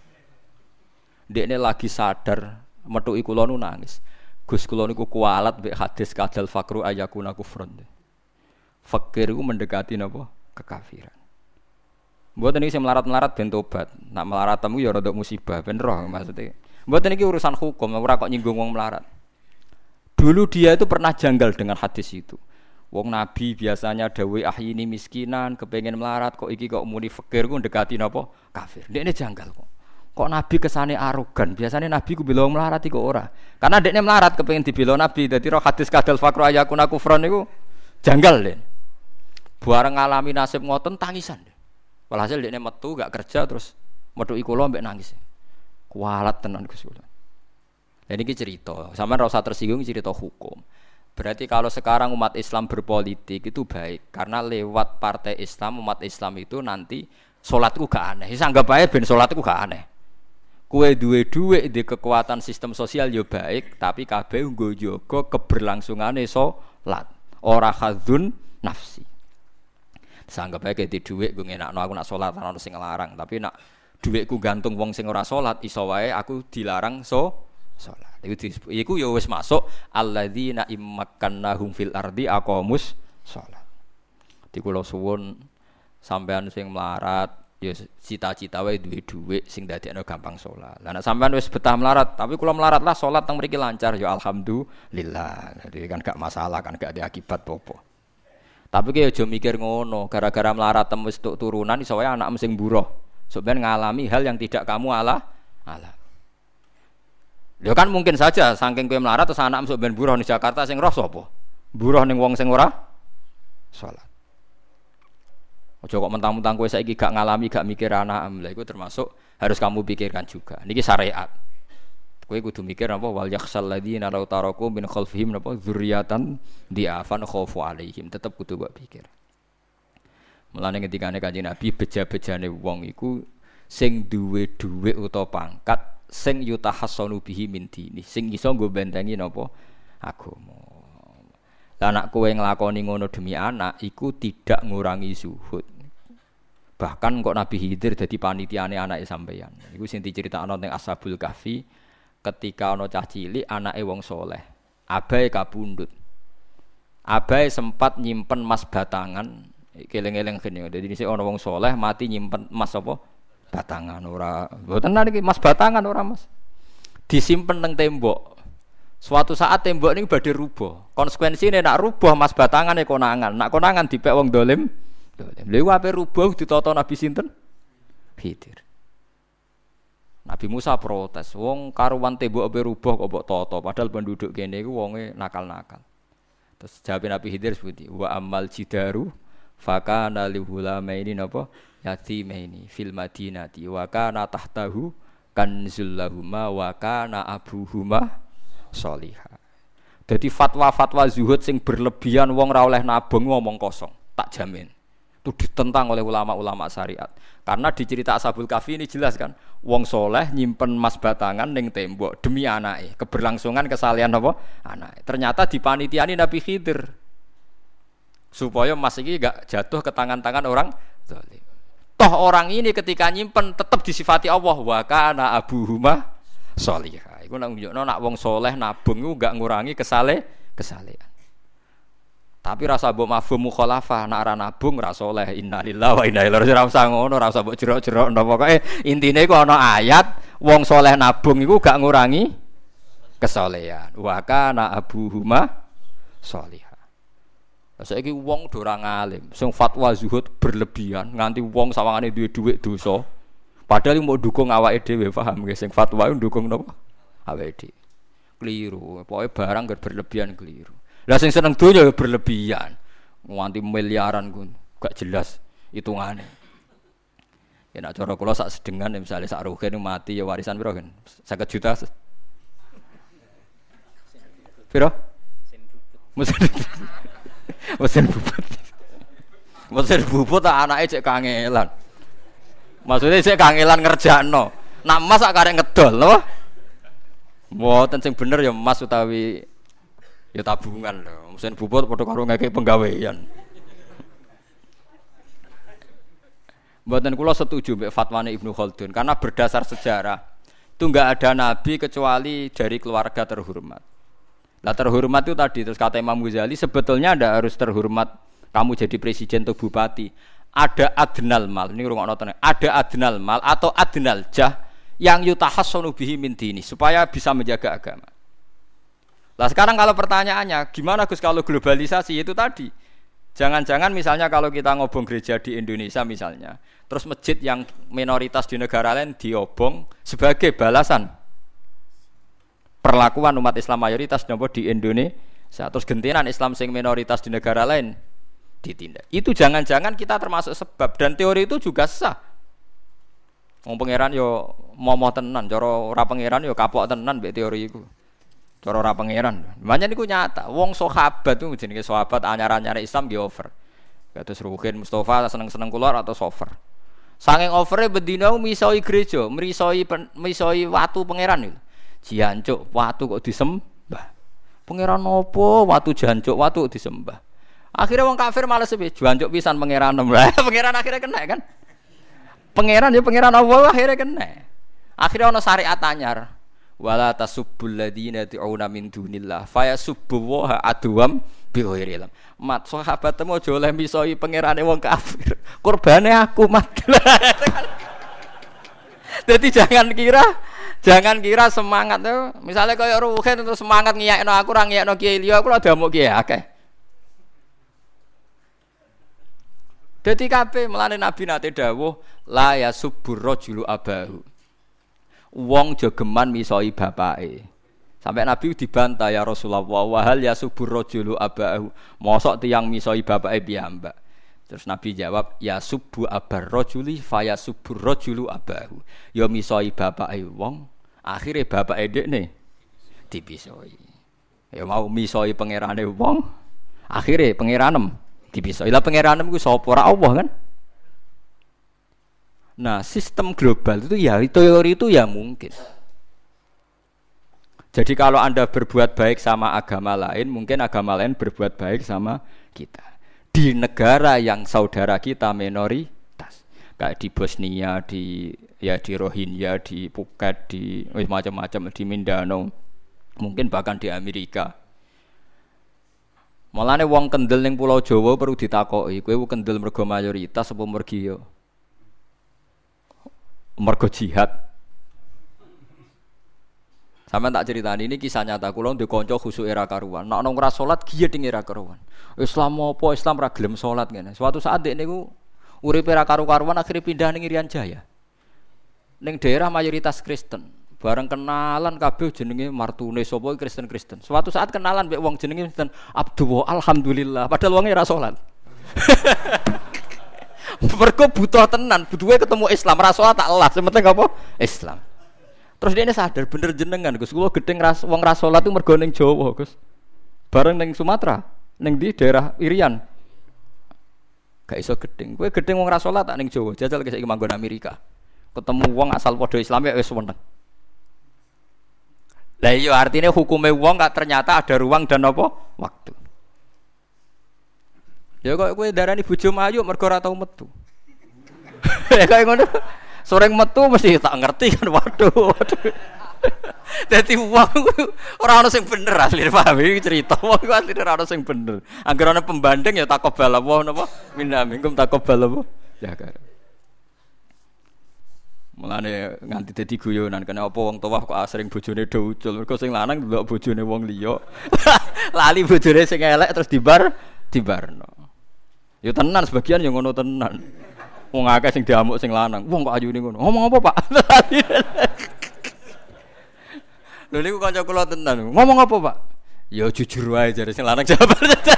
Dekne lagi sadar metuki kula nu nangis. Gus kula niku kualat mbek hadis kadal fakru ayakuna kufrun. Fakir iku mendekati napa? Kekafiran. Mboten iki sing melarat-melarat ben tobat. Nak melarat temu ya rada musibah ben roh maksudnya. Mboten iki urusan hukum, ora kok nyinggung wong melarat. Dulu dia itu pernah janggal dengan hadis itu. Wong Nabi biasanya dawuh ahyini miskinan, kepengin melarat kok iki kok muni fakir ku ndekati napa? Kafir. Ndekne janggal kok. Kok Nabi kesane arogan? Biasanya Nabi ku bilang melarat iku ora. Karena ndekne melarat kepengin dibela Nabi. Dadi roh hadis kadal fakru ayakuna kufron niku janggal den. Bareng ngalami nasib ngoten tangisan. Walhasil ndekne metu gak kerja terus metuki kula mbek nangis. Kualat tenan Gus kula. Lah niki cerita, sampean ora usah tersinggung cerita hukum. Berarti kalau sekarang umat Islam berpolitik itu baik karena lewat partai Islam umat Islam itu nanti salatku gak aneh. Wis anggap ae ben salatku gak aneh. Kowe duwe dhuwit di kekuatan sistem sosial ya baik, tapi kabeh nggo jaga keberlangsungane salat. Ora hadzun nafsi. Sanggap ae di dhuwit nggo ngenakno aku nak salat ana sing nglarang, tapi nak dhuwitku gantung wong sing ora salat iso wae aku dilarang so salat. Iku iku ya wis masuk alladzina immakannahum fil ardi aqamus salat. Di kula suwun sampean sing melarat ya cita-cita wae duwe dhuwit sing dadekno gampang salat. Lah nek sampean wis betah melarat, tapi kula melarat lah salat teng mriki lancar ya alhamdulillah. Jadi kan gak masalah kan gak ada akibat apa-apa. Tapi ki aja mikir ngono, gara-gara melarat tem wis tuk turunan iso wae anakmu sing buruh. Sebenarnya ngalami hal yang tidak kamu ala ala. Ya kan mungkin saja saking kowe melarat terus anakmu sok ben buruh di Jakarta sing roh sapa? Buruh ning wong sing ora salat. Aja kok mentang-mentang kowe saiki gak ngalami gak mikir anakmu. Lah iku termasuk harus kamu pikirkan juga. Niki syariat. Kowe kudu mikir apa wal yakhsal ladzina law taraku min khalfihim napa dzurriatan diafan khaufu alaihim. Tetep kudu mbok pikir. Mulane ketikane Kanjeng Nabi beja-bejane wong iku sing duwe dhuwit utawa pangkat sing yutahassanu bihi min dini, sing iso nggo bentengi napa agama. Lah nek kowe nglakoni ngono demi anak iku tidak ngurangi zuhud. Bahkan kok Nabi Khidir dadi panitiane anake sampeyan. Iku sing diceritakno ning Ashabul Kahfi ketika ana cah cilik anake wong saleh, abahe kabundut. Abai sempat nyimpen emas batangan, keleng-eleng gini. Jadi ini ana wong soleh mati nyimpen emas apa? Batangan ora. Mboten niki emas batangan ora Mas. Disimpen nang tembok. Suatu saat tembok ini badhe rubuh. Konsekuensine nak rubuh emas batangan e konangan. Nak konangan dipek wong dolim. Dolim. Lha ape rubuh ditata Nabi sinten? Khidir. Nabi Musa protes, wong karuan tembok ape rubuh kok mbok tata, padahal penduduk kene iku wonge nakal-nakal. Terus jawab Nabi Khidir seperti wa amal jidaru fakana lihulamaini napa yatimaini fil madinati wa kana tahtahu kanzul lahuma wa kana abuhuma sholihah. Jadi fatwa-fatwa zuhud sing berlebihan wong ra oleh nabung ngomong kosong, tak jamin. Itu ditentang oleh ulama-ulama syariat. Karena di cerita Ashabul Kahfi ini jelas kan, wong soleh nyimpen emas batangan ning tembok demi anake, keberlangsungan kesalehan apa? Anake. Ternyata dipanitiani Nabi Khidir. Supaya emas iki enggak jatuh ke tangan-tangan orang zalim. Toh orang ini ketika nyimpen tetap disifati Allah wa kana abuhuma sholihah. Iku nang nunjukno nak wong soleh nabung iku enggak ngurangi kesale kesalehan. Tapi rasa mbok mafhum mukhalafah nak ora nabung ora saleh innalillahi wa inna ilaihi raji'un ora usah ngono ora usah mbok jerok-jerok ndak pokoke intine iku ana ayat wong saleh nabung iku gak ngurangi kesalehan wa kana abuhuma sholihah. Saiki wong do ora ngalim sing fatwa zuhud berlebihan nganti wong sawangane duwe dhuwit dosa padahal mau dukung awake dhewe paham nggih sing fatwa iku dukung napa awake dhewe keliru pokoke barang berlebihan keliru. Lah sing seneng donya ya berlebihan. Nganti miliaran ku gak jelas hitungane. Ya nek cara kula sak sedengan misale sak rugen mati ya warisan piro kan? lima puluh juta. Piro? Mesin bubut. Mesin bubut. Mesin bubut tak anake cek kangelan. Maksudnya cek kangelan ngerjakno. Nak emas sak karek ngedol lho. Mboten sing bener ya emas utawi ya tabungan lho, mesin bubut padha karo ngekek penggawean. Mboten kula setuju mbek fatwane Ibnu Khaldun karena berdasar sejarah itu enggak ada nabi kecuali dari keluarga terhormat. Lah terhormat itu tadi terus kata Imam Ghazali sebetulnya ndak harus terhormat kamu jadi presiden atau bupati. Ada adnal mal, ini rungokno tenan. Ada adnal mal atau adnal jah yang yutahassanu bihi min dini supaya bisa menjaga agama. Lah sekarang kalau pertanyaannya gimana Gus kalau globalisasi itu tadi jangan-jangan misalnya kalau kita ngobong gereja di Indonesia misalnya terus masjid yang minoritas di negara lain diobong sebagai balasan perlakuan umat Islam mayoritas di Indonesia terus gentenan Islam sing minoritas di negara lain ditindak itu jangan-jangan kita termasuk sebab dan teori itu juga sah. Wong pangeran yo momo tenan cara ora pangeran yo kapok tenan mbek teori iku. Cara ora pangeran. Makanya niku nyata. Wong sahabat itu jenenge sahabat anyar-anyar Islam nggih over. Kados Ruhin Mustafa seneng-seneng kula atau over. Saking overe bendina misoi gereja, mrisoi misoi watu pangeran niku. Jancuk watu kok disembah. Pangeran opo watu jancuk watu disembah. Akhirnya wong kafir males piye jancuk pisan pangeran. Pangeran akhirnya kena kan. Pangeran ya pangeran Allah akhirnya kena. Akhirnya ana syariat anyar. Wala tasubbul ladina ta'una min dunillah fayasubbu wa adwam bi ghairi ilm. Mat sahabatmu aja oleh misoi pangerane wong kafir. Kurbane aku mat. Jadi jangan kira jangan kira semangat tuh. Misalnya kaya Ruhin terus semangat ngiyakno aku ora ngiyakno kiai liya aku lho damuk kiai akeh. Dadi kabeh melane Nabi nate dawuh la yasubbur rajulu abahu. Wong jogeman misoi bapake. Sampai Nabi dibantah ya Rasulullah wa hal yasubur rajulu abahu. Mosok tiyang misoi bapake piyambak. Terus Nabi jawab ya subu abar rajuli fa yasubur rajulu abahu. Ya misoi bapake wong, akhire bapake dekne dipisoi. Ya mau misoi pangerane wong, akhire pangeranem dipisoi. Lah pangeranem ku sapa? Ora Allah kan? Nah, sistem global itu ya teori itu ya mungkin. Jadi kalau Anda berbuat baik sama agama lain, mungkin agama lain berbuat baik sama kita. Di negara yang saudara kita minoritas, kayak di Bosnia, di ya di Rohingya, di Phuket, di macam-macam di Mindanao, mungkin bahkan di Amerika. Mulane wong kendel ning Pulau Jawa perlu ditakoki, kowe kendel mergo mayoritas apa mergi yo? Mergo jihad. Sampeyan tak critani ini kisah nyata kula ndek kanca khusuk era karuan. Nek nang ora salat giyeding era karuan. Islam apa Islam ra gelem salat ngene. Suatu saat dek niku urip era karu-karuan akhirnya pindah ning Irian Jaya. Ning daerah mayoritas Kristen. Bareng kenalan kabeh jenenge martune sapa Kristen-Kristen. Suatu saat kenalan mek wong jenenge Kristen Abdullah alhamdulillah padahal wonge ora salat. Mergo butuh tenan, butuhe ketemu Islam, ra salat tak elas, sing penting apa? Islam. Terus dia sadar bener jenengan Gus, kula gedeng ras wong ra salat itu mergo ning Jawa, Gus. Bareng ning Sumatera, ning di daerah Irian. Gak iso gedeng. Kowe gedeng wong ra salat tak ning Jawa, jajal saiki manggon Amerika. Ketemu wong asal padha Islam ya wis weneng. Lah iya artinya hukumnya wong gak ternyata ada ruang dan apa? Waktu. Ya kok kowe darani bojo ayu mergo ora tau metu. Ya kaya ngono. Soreng metu mesti tak ngerti kan waduh. Waduh. Dadi wong ora ono sing bener asline paham iki cerita. Wong iku asline ora ono sing bener. Angger ana pembanding ya takobal apa napa? Minna minkum takobal apa? Ya kan. Mulane nganti dadi guyonan kena apa wong tuwa kok asring bojone do ucul mergo sing lanang ndelok bojone wong liya lali bojone sing elek terus dibar dibarno ya tenan sebagian ya ngono tenan wong akeh sing diamuk sing lanang wong kok ayune ngono ngomong apa Pak lho niku kanca kula tenan ngomong apa Pak ya jujur wae jare sing lanang jawab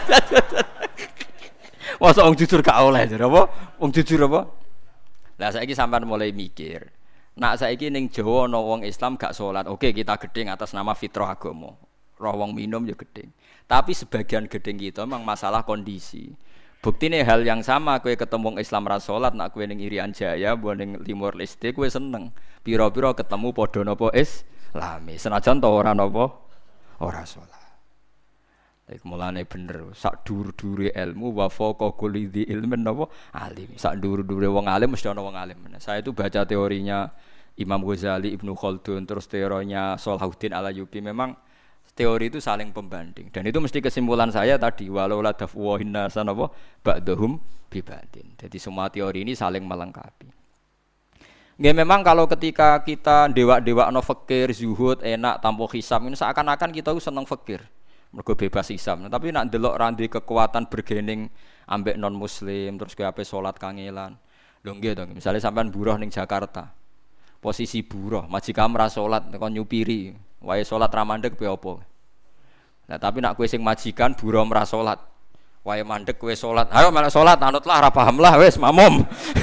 masa wong jujur gak oleh jare apa wong jujur apa. Lah saiki sampean mulai mikir. Nak saiki ning Jawa ana wong Islam gak salat. Oke, kita gedeng atas nama fitrah agama. Roh wong minum ya gedeng. Tapi sebagian gedeng kita memang masalah kondisi. Buktine hal yang sama kowe ketemu wong Islam ra salat, nak kowe ning Irian Jaya, mbok ning Timor Leste kowe seneng. Pira-pira ketemu padha napa Islami. Senajan to ora napa ora salat. Iku mulane bener sak dhuwur-dhuwure ilmu wa faqa kulli dzi ilmin napa alim. Sak dhuwur-dhuwure wong alim mesti ana wong alim. Saya itu baca teorinya Imam Ghazali, Ibnu Khaldun, terus teorinya Salahuddin Al-Ayyubi memang teori itu saling pembanding dan itu mesti kesimpulan saya tadi walau la dafu hinna sanapa ba'dhum bi ba'din. Jadi semua teori ini saling melengkapi. Nggih memang kalau ketika kita dewa-dewakno fikir, zuhud, enak tanpa hisab ini seakan-akan kita seneng fikir. Mergo bebas hisab. Nah, tapi nak ndelok randi kekuatan bergening ambek non muslim terus kowe ape salat kangelan. Lho nggih to, misale sampean buruh ning Jakarta. Posisi buruh, majikan ra salat kon nyupiri, wae salat ra mandeg piye apa. Nah, tapi nak kowe sing majikan buruh ra salat. Wae mandeg kowe salat. Ayo malah salat anutlah ra paham lah wis mamum.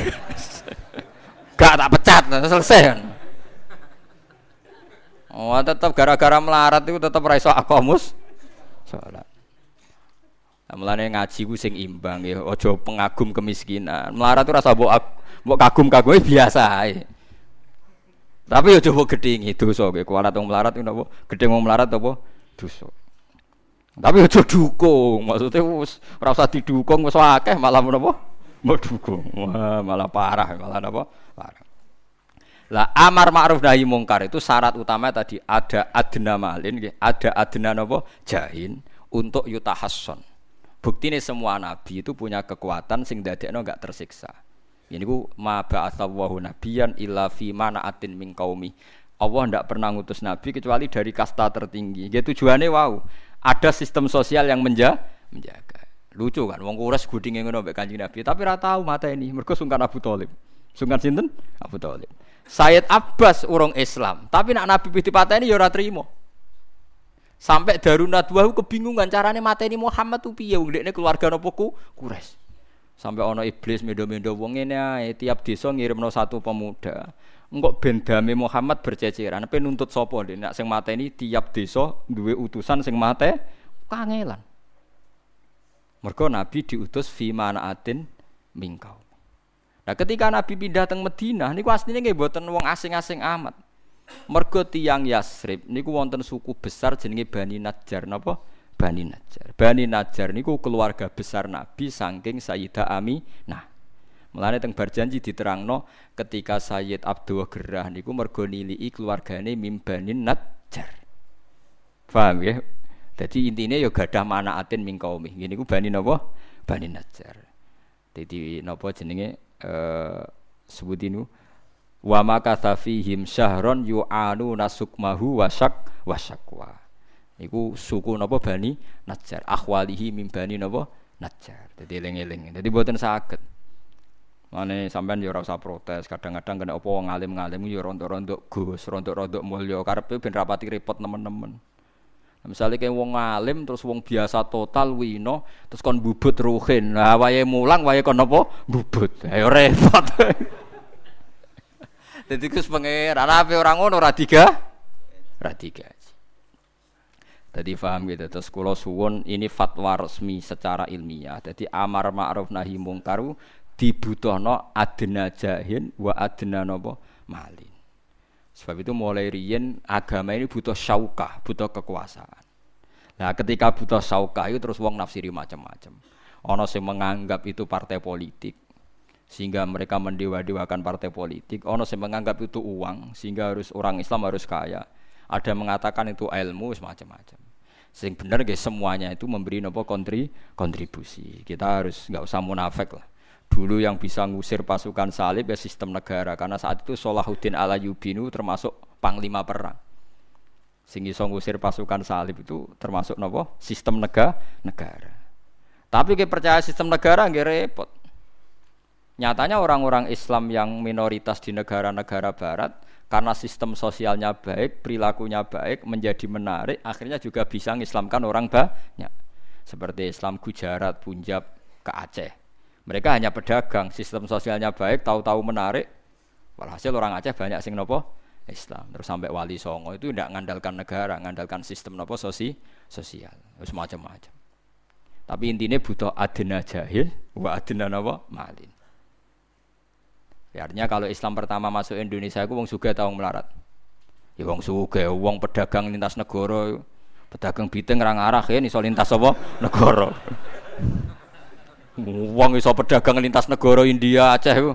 Gak tak pecat, selesai kan. Oh, tetap gara-gara melarat itu tetap ra iso akamus. Salat. Nah, mulane ngaji ku sing imbang ya, aja pengagum kemiskinan. Melarat itu rasa mbok mbok kagum-kagume biasa ae. Tapi aja mbok gedhingi dosa kowe. Kuwalat wong melarat ku napa? Gedhing wong melarat apa? Dosa. Tapi aja dukung. Maksudnya wis ora usah didukung wis akeh malah menapa? Mbok dukung. Wah, malah parah, malah napa? Parah. Lah amar ma'ruf nahi mungkar itu syarat utama tadi ada adna malin nggih, ada adna napa jahin untuk yutahasson. Buktine semua nabi itu punya kekuatan sing dadekno enggak tersiksa. Ini ku ma ba'atsallahu nabiyan illa fi mana'atin min qaumi. Allah ndak pernah ngutus nabi kecuali dari kasta tertinggi. Nggih tujuane wau, ada sistem sosial yang menja menjaga. Lucu kan wong Quraisy gudinge ngono mbek Kanjeng Nabi, tapi ora tau mateni mergo sungkan Abu Thalib. Sungkan sinten? Abu Thalib. Sayyid Abbas urung Islam, tapi nak Nabi dipateni ya ora trimo. Sampai Darun Nadwah kebingungan carane mateni Muhammad tu piye wong dekne keluarga napa ku Quraisy. Sampai ana iblis mendo-mendo wong ngene ae tiap desa ngirimno satu pemuda. Engko ben dame Muhammad berceceran, pe nuntut sapa ndek nak sing mateni tiap desa duwe utusan sing mate kangelan. Mergo Nabi diutus fi manaatin mingkau. Nah, ketika Nabi pindah teng Madinah niku asline nggih mboten wong asing-asing amat. Mergo tiyang Yasrib niku wonten suku besar jenenge Bani Najjar napa? Bani Najjar. Bani Najjar niku keluarga besar Nabi saking Sayyidah Aminah. Mulane teng Barjanji diterangno ketika Sayyid Abdul Gerah niku mergo niliki keluargane Mim Bani Najjar. Paham ya? Dadi intine ya gadah manaatin min qaumi. Ngene iku Bani napa? Bani Najjar. Dadi napa jenenge eh sebutinu wa makatha fihim syahron yu'anu nasukmahu wasak wasakwa. Iku suku napa Bani Najjar. Akhwalihi min Bani napa? Najjar. Dadi eling-eling. Dadi mboten saged. Mane sampean ya ora usah protes, kadang-kadang kena apa wong alim-alim ya rontok-rontok Gus, rontok-rontok mulya karepe ben rapati repot nemen-nemen. Misale kaya wong alim terus wong biasa total wino terus kon bubut ruhin. Lah wayahe mulang wayahe kon apa? Bubut. Ya repot. Dadi Gus pangeran ape ora ngono ora diga? Ora digaji. Dadi paham gitu. Terus kula suwun ini fatwa resmi secara ilmiah. Dadi amar ma'ruf nahi mungkar dibutuhno adna jahin wa adna napa malin. Sebab itu mulai riyen agama ini butuh syaukah, butuh kekuasaan. Nah, ketika butuh syaukah itu terus wong nafsiri macam-macam. Ana sing menganggap itu partai politik sehingga mereka mendewa-dewakan partai politik. Ana sing menganggap itu uang sehingga harus orang Islam harus kaya. Ada mengatakan itu ilmu semacam-macam. Sing bener nggih semuanya itu memberi napa kontri kontribusi. Kita harus enggak usah munafik lah. Dulu yang bisa ngusir pasukan salib ya sistem negara karena saat itu Salahuddin Al-Ayyubinu termasuk panglima perang. Sing iso ngusir pasukan salib itu termasuk napa? Sistem negara. negara. Tapi kita percaya sistem negara nggih repot. Nyatanya orang-orang Islam yang minoritas di negara-negara barat karena sistem sosialnya baik, perilakunya baik, menjadi menarik, akhirnya juga bisa mengislamkan orang banyak. Seperti Islam Gujarat, Punjab, ke Aceh. Mereka hanya pedagang, sistem sosialnya baik, tahu-tahu menarik. Walhasil orang Aceh banyak sing nopo Islam. Terus sampai Wali Songo itu tidak mengandalkan negara, mengandalkan sistem nopo sosi, sosial, terus macam-macam. Tapi intinya butuh adna jahil, wa adna nopo malin. Ya, artinya kalau Islam pertama masuk Indonesia, aku wong sugih ta wong melarat. Ya wong sugih, wong pedagang lintas negara, pedagang biteng ra ngarah ya iso lintas apa negara. Wong iso pedagang lintas negara India Aceh iku.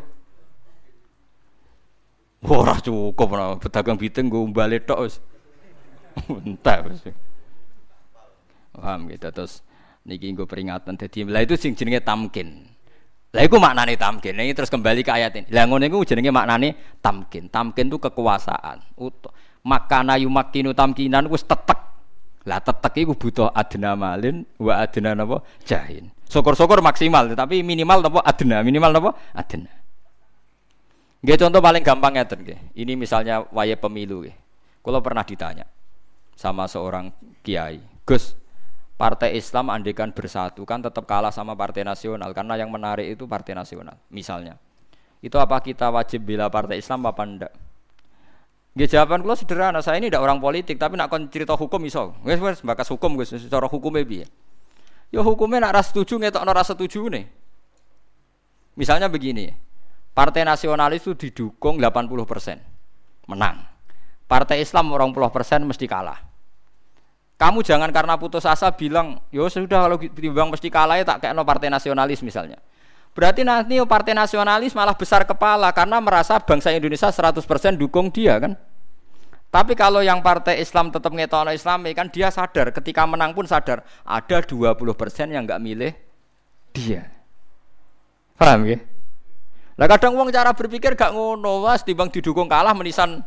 Ora cukup nah, pedagang biteng nggo umbale tok wis. Entek wis. Paham gitu terus niki nggo peringatan dadi lha itu sing jenenge tamkin. Lah iku maknane tamkin. Ini terus kembali ke ayat ini. Lah ngono iku jenenge maknane tamkin. Tamkin itu kekuasaan. Makana yumakkinu tamkinan wis tetek. Lah tetek iku butuh adna malin wa adna napa jahin. Syukur-syukur maksimal tapi minimal napa adna, minimal napa adna. Nggih contoh paling gampang ngeten nggih. Ini misalnya waya pemilu nggih. Kula pernah ditanya sama seorang kiai, "Gus, Partai Islam andekan bersatu kan tetap kalah sama Partai Nasional karena yang menarik itu Partai Nasional misalnya. Itu apa kita wajib bela Partai Islam apa enggak?" Nggih jawaban kula sederhana, saya ini ndak orang politik tapi nak kon cerita hukum iso. Wis wis bakas hukum Gus, secara hukume piye? Ya hukumnya nak ra setuju ngetokno ra setujune. Misalnya begini, Partai Nasionalis itu didukung delapan puluh persen menang. Partai Islam dua puluh persen mesti kalah. Kamu jangan karena putus asa bilang, "Yo sudah kalau timbang mesti kalah ya tak kekno Partai Nasionalis" misalnya. Berarti nanti Partai Nasionalis malah besar kepala karena merasa bangsa Indonesia seratus persen dukung dia kan. Tapi kalau yang Partai Islam tetap ngetokno Islami kan dia sadar ketika menang pun sadar ada dua puluh persen yang enggak milih dia. Paham ya? Lah kadang wong cara berpikir gak ngono, was timbang didukung kalah menisan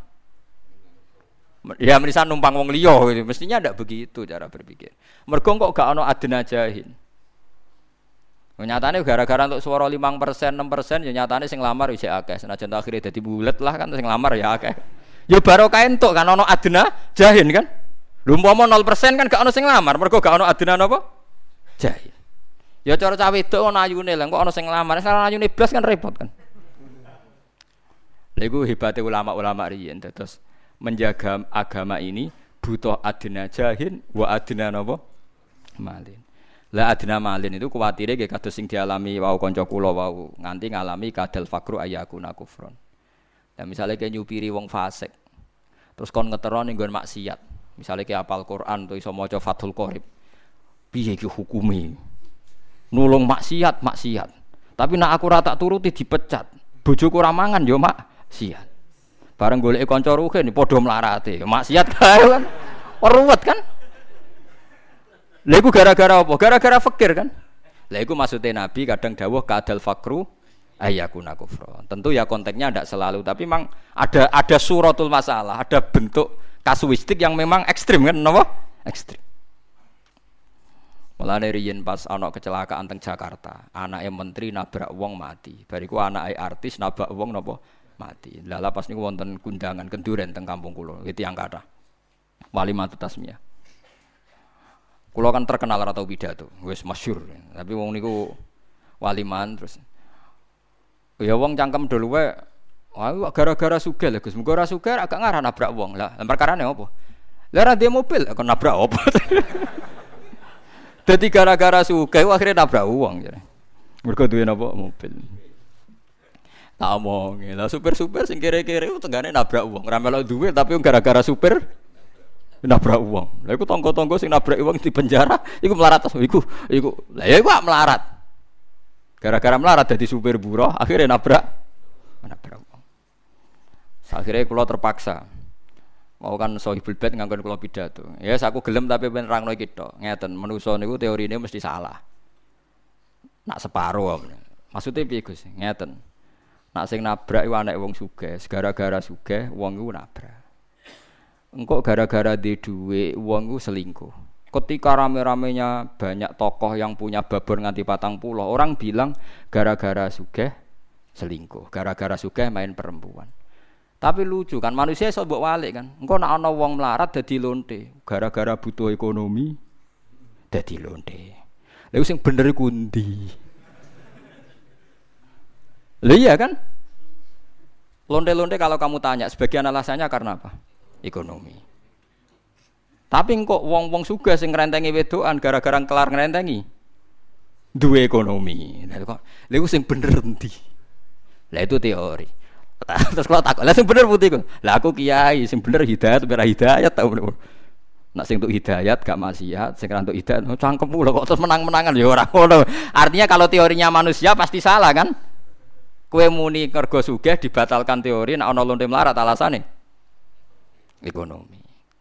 ya menisan numpang wong liya gitu. Mestinya ndak begitu cara berpikir. Mergo kok gak ono adna jahin. Nyatane gara-gara untuk suara lima persen, enam persen ya nyatane sing lamar wis akeh. Senajan akhire dadi bulet lah kan sing lamar ya akeh. Ya barokah entuk kan ono adna jahin kan. Lha umpama nol persen kan gak ono sing lamar, mergo gak ono adna napa? Jahin. Ya cara cah wedok ono ayune lha kok ono sing lamar, salah ayune blas kan repot kan. Lha iku hebate ulama-ulama riyen terus menjaga agama ini butuh adna jahin wa adna napa? Malin. Lah adna malin itu kuwatire nggih kados sing dialami wau kanca kula wau nganti ngalami kadal fakru ayakuna kufron. Ya misalnya kayak nyupiri wong fasik, terus kon ngetero ning nggon maksiat. Misalnya kayak apal Quran atau iso maca Fathul Qorib. Piye iki hukume? Nulung maksiat, maksiat. Tapi nak aku ra tak turuti dipecat. Bojoku ora mangan yo maksiat. Bareng goleki kanca rugen padha mlarate, maksiat kae kan. Ruwet kan? Lha iku gara-gara apa? Gara-gara fakir kan? Lha iku maksudnya Nabi kadang dawuh kadal fakru ayakuna kufra. Tentu ya konteksnya tidak selalu, tapi memang ada ada suratul masalah, ada bentuk kasuistik yang memang ekstrim kan, napa? Ekstrim. Mulane riyen pas ana kecelakaan teng Jakarta, anake menteri nabrak wong mati. Bariku anake artis nabrak wong napa mati. Lah pas niku wonten kundangan kenduren teng kampung kula, iki tiyang kathah. Walimatu tasmiyah. Kula kan terkenal ora tau pidato, wis masyhur. Tapi wong niku waliman terus ya wong cangkem dulu wae. Wah gara-gara sugih lho Gus. Muga ora sugih agak ngarah nabrak wong. Lah perkarane apa? Lah ora ndek mobil kok nabrak apa? Dadi gara-gara sugih akhirnya nabrak wong jare. Mergo duwe napa mobil. Tak omong, lah supir-supir sing kere-kere tengane nabrak wong. Ora melok duwe tapi gara-gara supir nabrak wong. Lah iku tangga-tangga sing nabrak wong di penjara, iku melarat iku. Iku. Lah ya iku melarat. Gara-gara melarat dadi supir buruh, akhirnya nabrak nabrak wong. Akhirnya kula terpaksa. Mau kan sohibul bait nganggon kula pidato. Ya yes, aku gelem tapi ben nerangno iki tok. Ngeten, manusa niku teorine mesti salah. Nak separo. Maksudnya piye Gus? Ngeten. Nak sing nabrak iku anake wong sugih, gara-gara sugih wong iku nabrak. Engkau gara-gara di duit uang itu selingkuh. Ketika rame-ramenya banyak tokoh yang punya babon nganti patang pulau, orang bilang gara-gara sugih selingkuh, gara-gara sugih main perempuan. Tapi lucu kan manusia iso mbok walik kan. Engkau nak ana wong melarat dadi lonte, gara-gara butuh ekonomi dadi lonte. Lha sing bener iku ndi? Lha iya kan? Lonte-lonte kalau kamu tanya sebagian alasannya karena apa? Ekonomi. Tapi kok wong-wong sugih sing ngrentengi wedokan gara-gara kelar ngrentengi duwe ekonomi. Lha kok lha iku sing bener endi? Lah itu teori. Terus kalau takut, lah sing bener putih kok. Lah aku kiai sing bener hidayat ora hidayat ta. Nak sing untuk hidayat gak maksiat, sing untuk hidayat cangkem lho kok terus menang-menangan ya ora ngono. Artinya kalau teorinya manusia pasti salah kan? Kowe muni kergo sugih dibatalkan teori nek ana lonte melarat alasane ekonomi.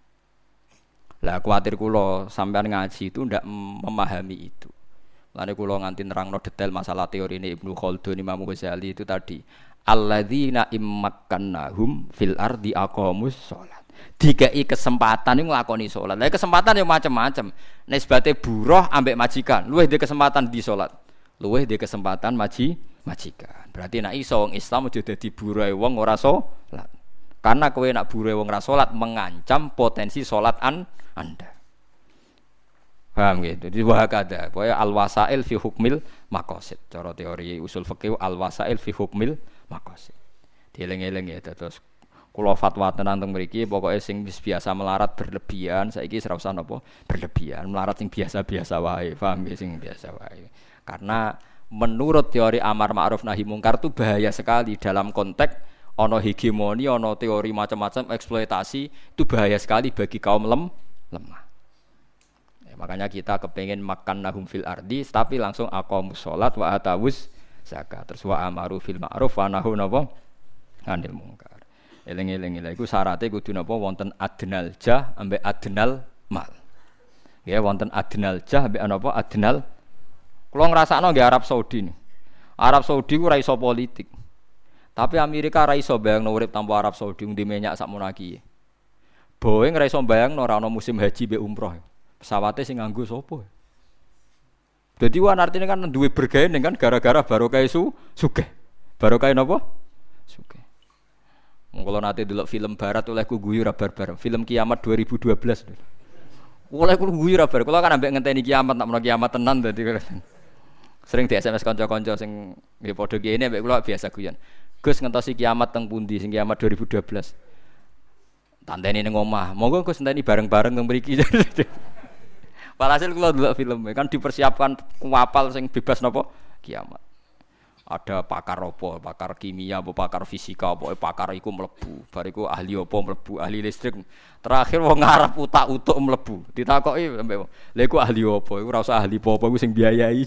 Lah kuwatir kula sampean ngaji itu ndak memahami itu. Lane kula nganti nerangno detail masalah teori ini Ibnu Khaldun Imam Ghazali itu tadi. Alladzina immakkannahum fil ardi aqamus shalah. Dikai kesempatan iku nglakoni salat. Lah kesempatan yo macam-macam. Nisbate buruh ambek majikan, luwih dhe kesempatan di salat. Luwih dhe kesempatan maji majikan. Berarti nek iso wong Islam aja dadi buruh wong ora salat. Karena kowe nak buruh wong ra salat mengancam potensi salat an Anda. Paham gitu. Jadi wahakada, pokoke al-wasail fi hukmil maqasid. Cara teori usul fikih al-wasail fi hukmil maqasid. Dieling-eling ya terus kula fatwa tenan teng mriki pokoke sing wis biasa melarat berlebihan saiki ora usah napa berlebihan, melarat sing biasa-biasa wae, paham ya sing biasa wae. Karena menurut teori amar ma'ruf nahi mungkar itu bahaya sekali dalam konteks ono hegemoni, ono teori macam-macam eksploitasi itu bahaya sekali bagi kaum lem, lemah. Ya, makanya kita kepengen makan nahum fil ardi, tapi langsung aqamus sholat wa atawus zakat, terus wa amaru fil ma'ruf wa nahu napa anil mungkar. Eling-eling lha iku syaraté kudu napa wonten adnal jah ambek adnal mal. Ya wonten adnal jah ambek napa adnal. Kula ngrasakno nggih Arab Saudi nih. Arab Saudi ku ra iso politik. Tapi Amerika ra iso bayangno urip tanpa Arab Saudi ndi minyak sakmono iki. Boeing ra iso bayangno ora ana musim haji mbek umroh. Pesawate sing nganggo sapa? Dadi wan artine kan duwe bergaene kan gara-gara barokah isu sugih. Barokah napa? Sugih. Mung kula nate delok film barat oleh ku guyu ra barbar. Film Kiamat dua ribu dua belas. Oleh ku guyu ra bar. Kula kan ambek ngenteni kiamat nak menawa kiamat tenan dadi sering di S M S kanca-kanca sing nggih padha kene ambek kula biasa guyon. Gus ngentosi kiamat teng pundi sing kiamat dua ribu dua belas. Tandeni ning omah. Monggo Gus enteni bareng-bareng teng mriki. Walhasil kula delok film kan dipersiapkan kuapal sing bebas napa kiamat. Ada pakar apa, pakar kimia apa, pakar fisika apa, pakar iku mlebu. Bariku ahli apa mlebu, ahli listrik. Terakhir wong ngarep utak-utuk mlebu. Ditakoki mbek, "Lha iku ahli apa?" Iku ora usah ahli apa-apa, iku sing biayai.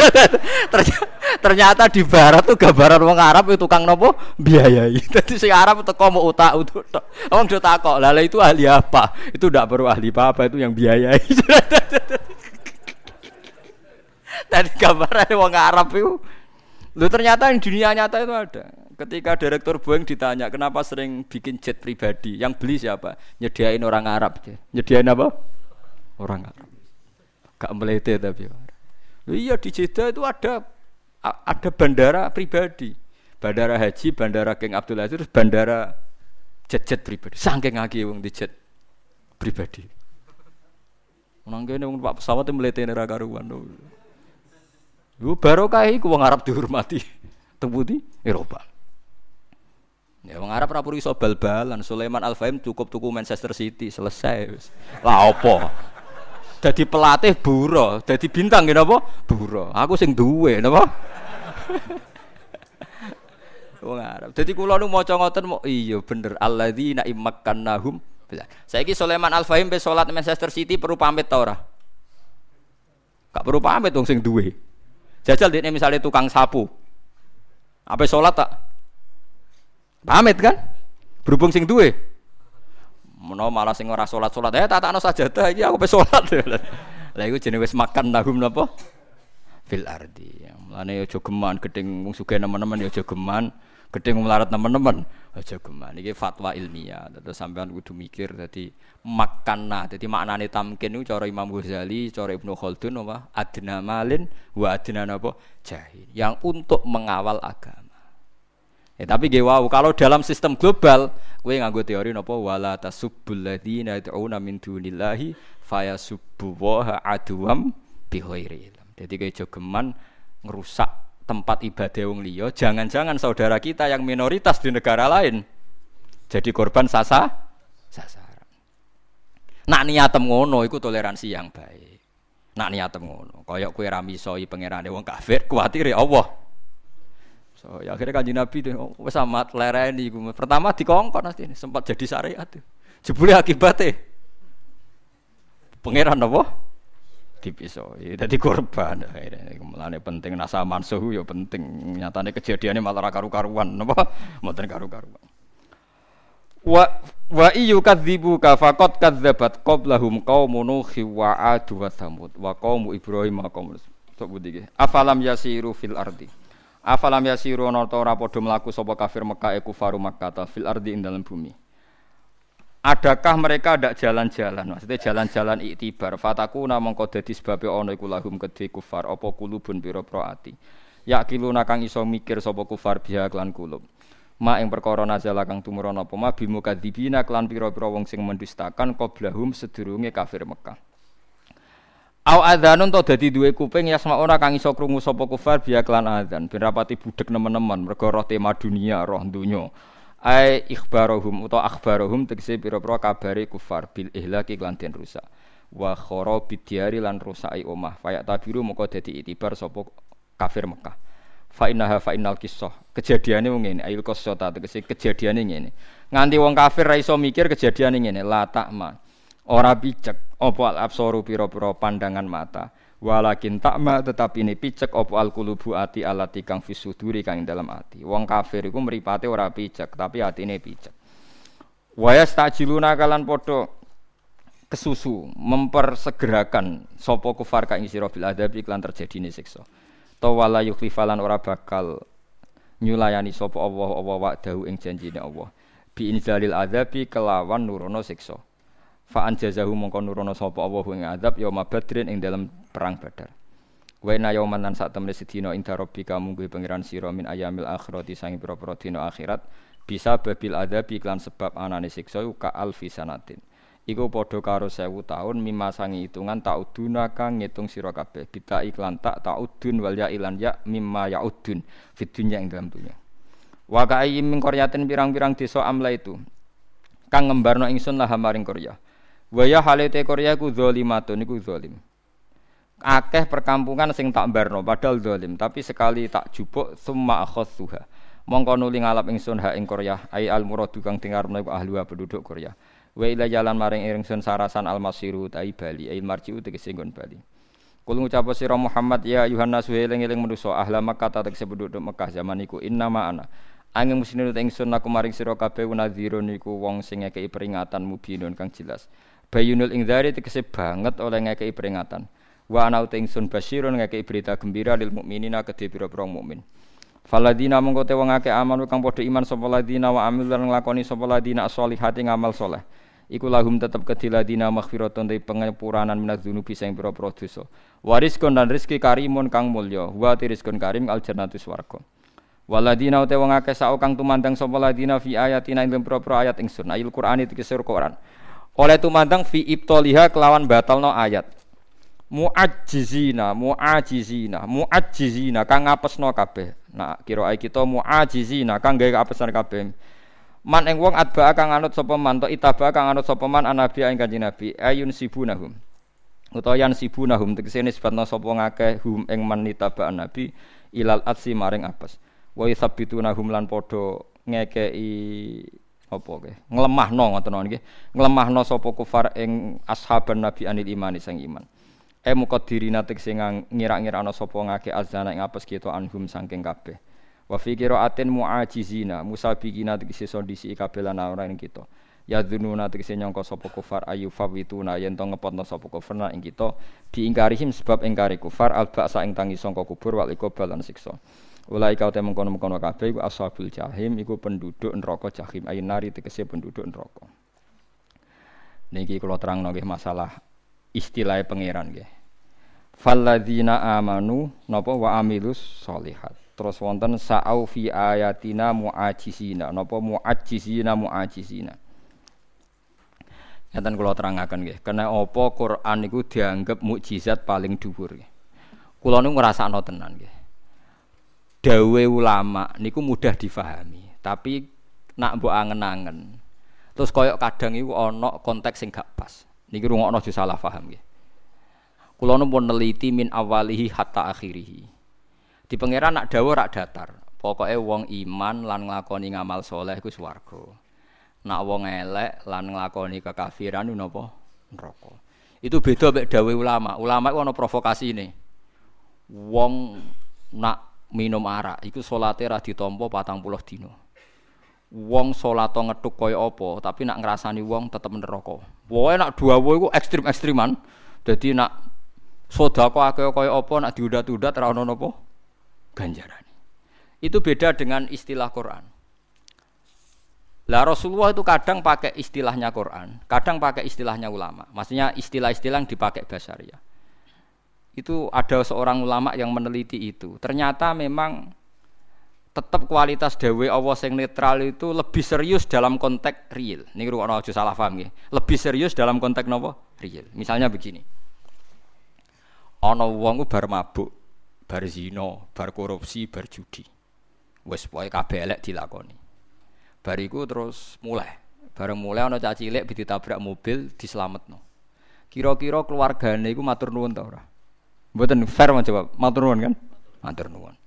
Ternyata di barat tuh gambaran wong Arab itu tukang napa biayai. Dadi sing Arab teko mau utak-utuk tok. Wong do takok, "Lah itu ahli apa?" Itu ndak perlu ahli apa-apa, itu yang biayai. Tadi gambarane wong Arab itu. Lu ternyata di dunia nyata itu ada. Ketika direktur Boeing ditanya kenapa sering bikin jet pribadi, yang beli siapa? Nyediain orang Arab. Nyediain apa? Orang Arab. Gak melete tapi. Iya di Jeddah itu ada ada bandara pribadi. Bandara haji, bandara King Abdul Aziz, bandara jet-jet pribadi. Saking akeh wong di jet pribadi. Nang kene wong Pak pesawat melete ora karuan. Lu barokah iku wong Arab dihormati. Teng pundi? Eropa. Ya wong Arab ora perlu iso bal-balan. Sulaiman Al-Fahim cukup tuku Manchester City selesai wis. Lah opo? Dadi pelatih buro, dadi bintang ngene apa? Buro. Aku sing duwe napa? Wong Arab. Dadi kula nu maca ngoten mo iya bener alladzina immakkannahum. Saiki Sulaiman Al-Fahim pe salat Manchester City perlu pamit ta ora? Gak perlu pamit wong sing duwe. Jajal dekne misale tukang sapu. Apa salat tak? Pamit kan? Berhubung sing duwe. Menawa malah sing ora salat-salat, eh tatakno sajadah iki aku pe salat. Lah iku jenenge wis makan nahum napa? Fil ardi. Mulane aja geman gedeng wong sugih nemen-nemen ya aja geman, gedeng melarat nemen-nemen aja geman. Iki fatwa ilmiah. Terus sampean kudu mikir dadi makanna. Dadi maknane tamkin niku cara Imam Ghazali, cara Ibnu Khaldun apa? Adna malin wa adna napa? Jahil. Yang untuk mengawal agama. Ya, tapi ge wow, kalau dalam sistem global, kowe nganggo teori napa wala tasubbul ladzina yad'una min dunillahi fayasubbu wa aduwam bi ghairi ilm. Dadi kowe jogeman ngerusak tempat ibadah wong liya, jangan-jangan saudara kita yang minoritas di negara lain jadi korban sasa sasaran. Nak niatem ngono iku toleransi yang baik. Nak niatem ngono, kaya kowe ra misoi pangerane wong kafir, kuwatire Allah. So, ya akhirnya Kanjeng Nabi itu oh, wis amat lereni iku. Pertama dikongkon pasti sempat jadi syariat. Jebule akibatnya pangeran apa? Dipisoi. Dadi korban. Mulane penting nasa mansuh ya penting. Nyatane kejadiannya malah karu-karuan napa? Mboten karu-karuan. Wa wa iyukadzibu ka faqad kadzabat qablahum qaumun nuh wa 'ad wa tsamud wa qaum Ibrahim wa qaum Lut. Iki afalam yasiru fil ardi. Afalam yasiru ana ta ora padha mlaku sapa kafir Mekah e kufaru Makkah fil ardi ing dalam bumi. Adakah mereka ndak jalan-jalan? Maksudnya jalan-jalan iktibar. Fatakuna mongko dadi sebabe ana iku lahum kedhe kufar apa kulubun pira-pira ati. Yakiluna kang iso mikir sapa kufar biha klan kulub. Ma ing perkara nazala kang tumurun apa ma bimu kadzibina klan pira-pira wong sing mendustakan qablahum sedurunge kafir Mekah. Au adzanun to dadi duwe kuping yasma ora kang iso krungu sapa kufar biya klan adzan ben rapati budhek nemen-nemen mergo roh tema dunia roh donya ai ikhbarohum utawa akhbarohum tegese pira-pira kabare kufar bil ihlaki klan den rusak wa kharabid diari lan rusai omah fayak tabiru moko dadi itibar sapa kafir Mekah fa innaha fa innal qissah kejadiane ngene ail qissah tegese kejadiane ngene nganti wong kafir ra iso mikir kejadiane ngene la takma ora picek apa al-absaru pira-pira pandangan mata walakin takma tetapi ini picek apa al-qulubu ati alati kang fisuduri kang dalam ati wong kafir iku mripate ora picek tapi atine picek wa yastajiluna kalan padha kesusu mempersegerakan sapa kufar kang sira bil adzab iklan terjadine siksa ta wala yukhlifalan ora bakal nyulayani sapa Allah Allah wa'dahu ing janjine Allah bi inzalil adzabi kelawan nurono siksa fa anjazahu mongko nurono sapa Allah ing azab yaum badrin ing dalam perang Badar. Wa inna yauman lan sak temene sedina ing rabbika mungguh pangeran sira min ayamil akhirati sangi pira-pira dina akhirat bisa babil azab iklan sebab anane siksa ka alfi sanatin. Iku padha karo sewu taun mimma sangi hitungan tauduna kang ngitung sira kabeh bita iklan tak taudun wal ya ilan ya mimma yaudun fid dunya ing dalam dunya. Wa ka'ayyin min qaryatin pirang-pirang desa amla itu kang ngembarno ingsun lah maring Korea. Wa ya halate Korea ku zalimatun iku zalim. Akeh perkampungan sing tak mbarno padahal zalim, tapi sekali tak jupuk summa akhadhuha. Mongko nuli ngalap ingsun ha ing Korea, ai al muradu kang dengarno iku ahli penduduk Korea. Wa ila jalan maring ingsun sarasan al masiru tai bali, ai marjiu tegese nggon bali. Kul ngucap sira Muhammad ya Yohanes eling-eling manusa ahla Makkah tegese penduduk Mekah zaman iku innama ana. Angin muslimin ingsun aku maring sira kabeh nadhirun niku wong sing ngekeki peringatan mubinun kang jelas. Bayunul ingdzari tegese banget oleh ngekeki peringatan. Wa ana uta ingsun basyirun ngekeki berita gembira lil mukminina kedhe pira-pira mukmin. Faladina mongko te wong akeh amanu kang padha iman sapa ladina wa amil lan nglakoni sapa ladina sholihati ngamal saleh. Iku lahum tetep kedhi ladina maghfiratun te pengapuranan minaz dzunubi sing pira-pira dosa. Wariskon dan rezeki karimun kang mulya. Wa rizqun karim al jannatu swarga. Waladina uta wong akeh sak kang tumandang sapa ladina fi ayatina ing pira-pira ayat ingsun. Ayil Qur'an iki kesur Qur'an. Oleh tumandang fi ibtaliha kelawan batalno ayat. Mu'ajjizina, mu'ajizina, mu'ajjizina kang ngapesno kabeh. Nah, kira kita mu'ajizina kang gawe kapesan kabeh. Man ing wong adba kang anut sapa man to itaba kang anut sapa man anabi ing Kanjeng Nabi ayun sibunahum. Utawa yan sibunahum tegese nisbatna sapa ngakeh hum ing man itaba nabi ilal atsi maring apes. Wa yusabbitunahum lan padha ngekeki apa ke? Nglemahno ngoten nggih. Nglemahno sapa kufar ing ashaban nabi anil imani sang iman. E muqaddirina tegese ngira-ngira ana sapa ngake azana ing apes kita anhum saking kabeh. Wa fi qiraatin mu'ajizina musabiqina tegese sondisi kabeh lan ora ing kita. Ya dzununa tegese nyangka sapa kufar ayu fawituna yen to ngepotno sapa kufar ing kita diingkarihim sebab ingkari kufar alba'sa ing tangi sangka kubur wal iqbal lan siksa. Ulai kau temung kono-kono kabeh iku ashabul jahim iku penduduk neraka jahim ainari tegese penduduk neraka. Niki kula terangno nggih masalah istilah pangeran nggih. Falladzina amanu napa wa amilus sholihat. Terus wonten sa'au fi ayatina mu'ajizina napa mu'ajizina mu'ajizina. Ngaten kula terangaken nggih, kena apa Quran niku dianggap mukjizat paling dhuwur nggih. Kula niku ngrasakno tenan nggih. Dawe ulama niku mudah difahami, tapi nak mbok angen-angen. Terus koyok kadang iku ana konteks sing gak pas. Niki rungokno aja salah paham nggih. Kula nu pun neliti min awalihi hatta akhirih. Di pangeran nak dawuh rak datar. Pokoke wong iman lan nglakoni ngamal saleh iku swarga. Nak wong elek lan nglakoni kekafiran niku napa? Neraka. Itu beda mek dawuh ulama. Ulama iku ana provokasine. Wong nak minum arak iku salate ra ditampa patang puluh dina. Wong salat ngethuk kaya apa, tapi nak ngrasani wong tetep neraka. Pokoke nak dawuh iku ekstrim-ekstriman. Dadi nak sedekah akeh kaya apa nak diudat-udat ra ono napa ganjaran. Itu beda dengan istilah Quran. Lah Rasulullah itu kadang pakai istilahnya Quran, kadang pakai istilahnya ulama. Maksudnya istilah-istilah yang dipakai basyariah. Itu ada seorang ulama yang meneliti itu. Ternyata memang tetap kualitas dawe Allah sing netral itu lebih serius dalam konteks real. Niki rukun aja salah paham nggih. Lebih serius dalam konteks napa? Real. Misalnya begini. Ana wong ku bar mabuk, bar zina, bar korupsi, bar judi. Wis pokoke kabeh elek dilakoni. Bariku terus mulai. Bareng mulai ana cah cilik ditabrak mobil dislametno. Kira-kira keluargane iku matur nuwun ta ora? Mboten fair menjawab. Matur nuwun kan? Matur nuwun.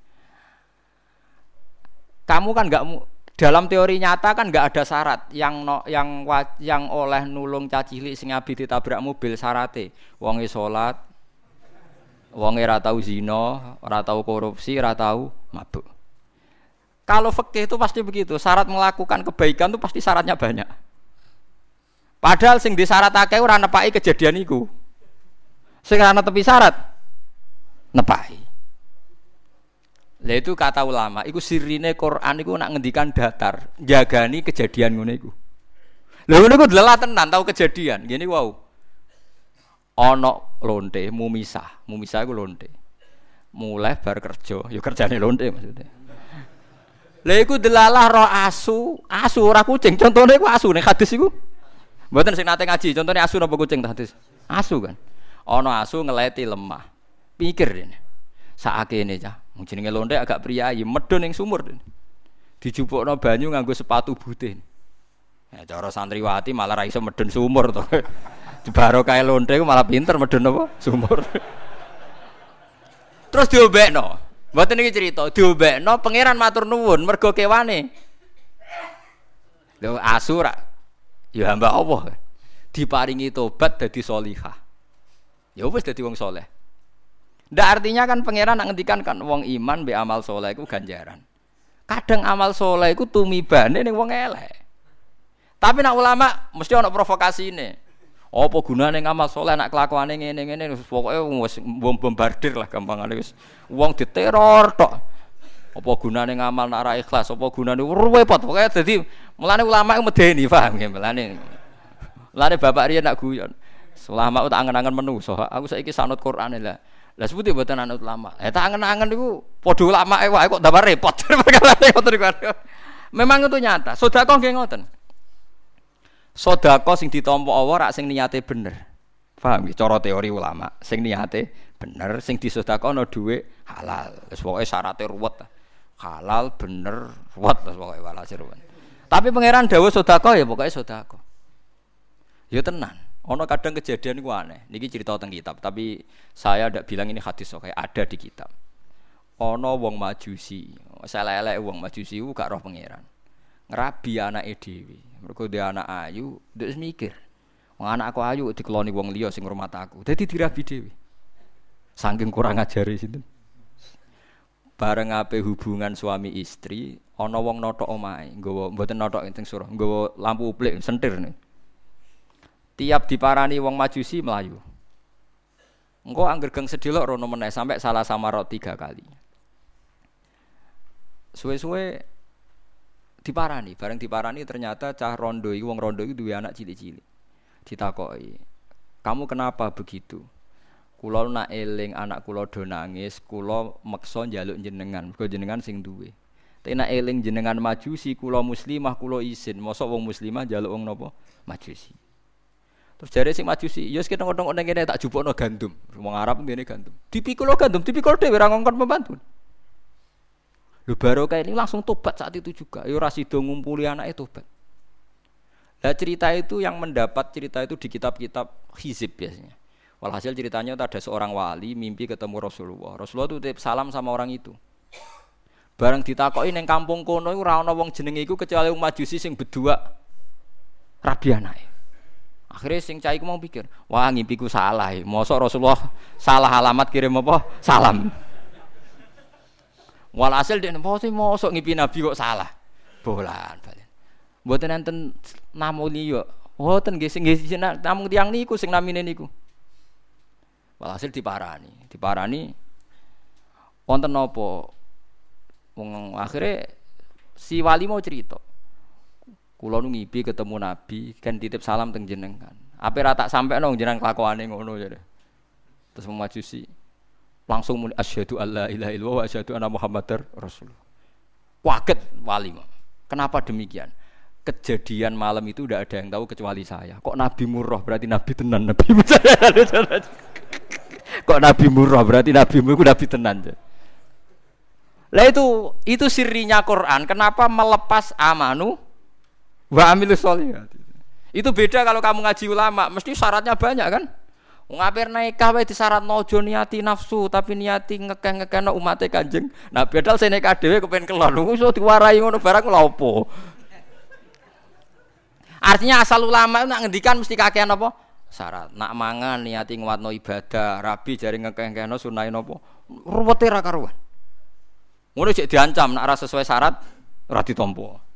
Kamu kan enggak dalam teori nyata kan enggak ada syarat yang no, yang yang oleh nulung cah cilik sing abi ditabrak mobil syarate wonge salat, wonge ora tau zina, ora tau korupsi, ora tau mabuk. Kalau fikih itu pasti begitu, syarat melakukan kebaikan itu pasti syaratnya banyak. Padahal sing disyaratake ora nepaki kejadian iku. Sing ana tepi syarat nepaki. Lah itu kata ulama, iku sirine Quran iku nak ngendikan datar, jagani kejadian ngono iku. Lha ngono iku delalah tenan tau kejadian, ngene wau. Ana lonte mumisah, mumisah iku lonte. Mulai bar kerja, ya kerjane lonte maksudnya. Lha iku delalah ro asu, asu ora kucing. Contone iku asu ning hadis iku. Mboten sing nate ngaji, contone asu napa kucing ta hadis? Asu kan. Ana asu ngeleti lemah. Pikir rene. Sakakene cah, mung jenenge lonte agak priyayi, medhun ning sumur. Dijupukno banyu nganggo sepatu butih. Ya cara santriwati malah ra iso medhun sumur to. Dibaro kae lonte iku malah pinter medhun apa? Sumur. Terus diombekno. Mboten iki cerita, diombekno pangeran matur nuwun mergo kewane. Lho asu ra ya hamba Allah. Diparingi tobat dadi sholihah. Ya wis dadi wong saleh. Ndak artinya kan pangeran nak ngendikan kan wong iman mbek amal saleh iku ganjaran. Kadang amal saleh iku tumibane ning wong elek. Tapi nak ulama mesti ana provokasine. Apa gunane ngamal saleh nek kelakuane ngene-ngene pokoke wis bombardir lah gampangane wis wong diteror tok. Apa gunane ngamal nek ora ikhlas, apa gunane repot pokoke dadi mulane ulama iku medeni paham ya mulane. Mulane bapak riyen nak guyon. Ulama tak angen-angen menungso, aku saiki sanut Quran lah. Lah sebuti mboten anut ulama. Eh tak angen-angen niku padha ulamake wae kok tambah repot. Memang itu nyata. Sedekah nggih ngoten. Sedekah sing ditampa Allah rak sing niate bener. Paham nggih cara teori ulama. Sing niate bener, sing disedekahno dhuwit halal. Wis pokoke syaraté ruwet. Halal bener ruwet wis pokoke walhasil ruwet. Tapi pangeran dawuh sedekah ya pokoke sedekah. Ya tenan. Ono kadang kejadian iku aneh. Niki cerita teng kitab, tapi saya ndak bilang ini hadis kok ada di kitab. Ono wong Majusi. Selelek wong Majusi ku gak roh pangeran. Ngrabi anake dhewe. Mergo dia anak ayu, ndek mikir. Wong anakku ayu dikeloni wong liya sing ngrumat aku. Dadi dirabi dhewe. Saking kurang ajare sinten. Bareng ape hubungan suami istri, ana wong notok omahe, nggawa mboten notok ing surah, nggawa lampu uplik sentir nih. Tiap diparani wong Majusi melayu. Engko angger geng sedelok rono meneh sampai salah samarot tiga kali. Suwe-suwe diparani, bareng diparani ternyata cah rondo iki wong rondo iki duwe anak cilik-cilik. Ditakoki, "Kamu kenapa begitu?" Kula nak eling anak kula do nangis, kula meksa njaluk jenengan, mergo jenengan sing duwe. Tapi nak eling jenengan Majusi, kula muslimah kula izin, mosok wong muslimah njaluk wong napa? Majusi. Terus jare sing Majusi, ya wis keteng-keteng ning kene tak jupukno gandum. Wong Arab ngene gandum. Dipikul gandum, dipikul dhewe ora ngongkon pembantu. Lho barokah ini langsung tobat saat itu juga. Ya ora sida ngumpuli anake tobat. Lah cerita itu yang mendapat cerita itu di kitab-kitab hizib biasanya. Walhasil ceritanya ada seorang wali mimpi ketemu Rasulullah. Rasulullah itu titip salam sama orang itu. Bareng ditakoki ning kampung kono iku ora ana wong jenenge iku kecuali wong Majusi sing berdua rabi anake. Akhirnya sing cah iku mau pikir, wah ngimpiku salah. Mosok Rasulullah salah alamat kirim apa? Salam. Walhasil dene mosok mosok ngimpi Nabi kok salah. Bolan balen. Mboten enten namu liya. Mboten nggih sing nggih namung tiyang niku sing namine niku. Walhasil diparani, diparani wonten napa? Wong akhire si wali mau cerita. Kula nu ngipi ketemu Nabi, kan titip salam teng jenengan. Ape ra tak sampekno jenengan kelakuane ngono jare. Terus Majusi langsung muni asyhadu alla ilaha illallah wa asyhadu anna muhammadar rasulullah. Kaget wali. Kenapa demikian? Kejadian malam itu tidak ada yang tahu kecuali saya. Kok Nabi murah berarti Nabi tenan Nabi. Kok Nabi murah berarti Nabi mu Nabi tenan. Lah itu itu sirinya Quran. Kenapa melepas amanu wa amilus sholihat. Itu beda kalau kamu ngaji ulama, mesti syaratnya banyak kan? Wong ape nikah wae disyaratno aja niati nafsu, tapi niati ngekeh-ngekehno umate Kanjeng. Nah, padahal sing nikah dhewe kepen kelon, iso diwarai ngono barang lha opo? Artinya asal ulama nak ngendikan mesti kakean apa? Syarat. Nak mangan niati nguatno ibadah, rabi jare ngekeh-ngekehno sunahe napa? Ruwete ra karuan. Ngono cek diancam nak ora sesuai syarat ora ditampa.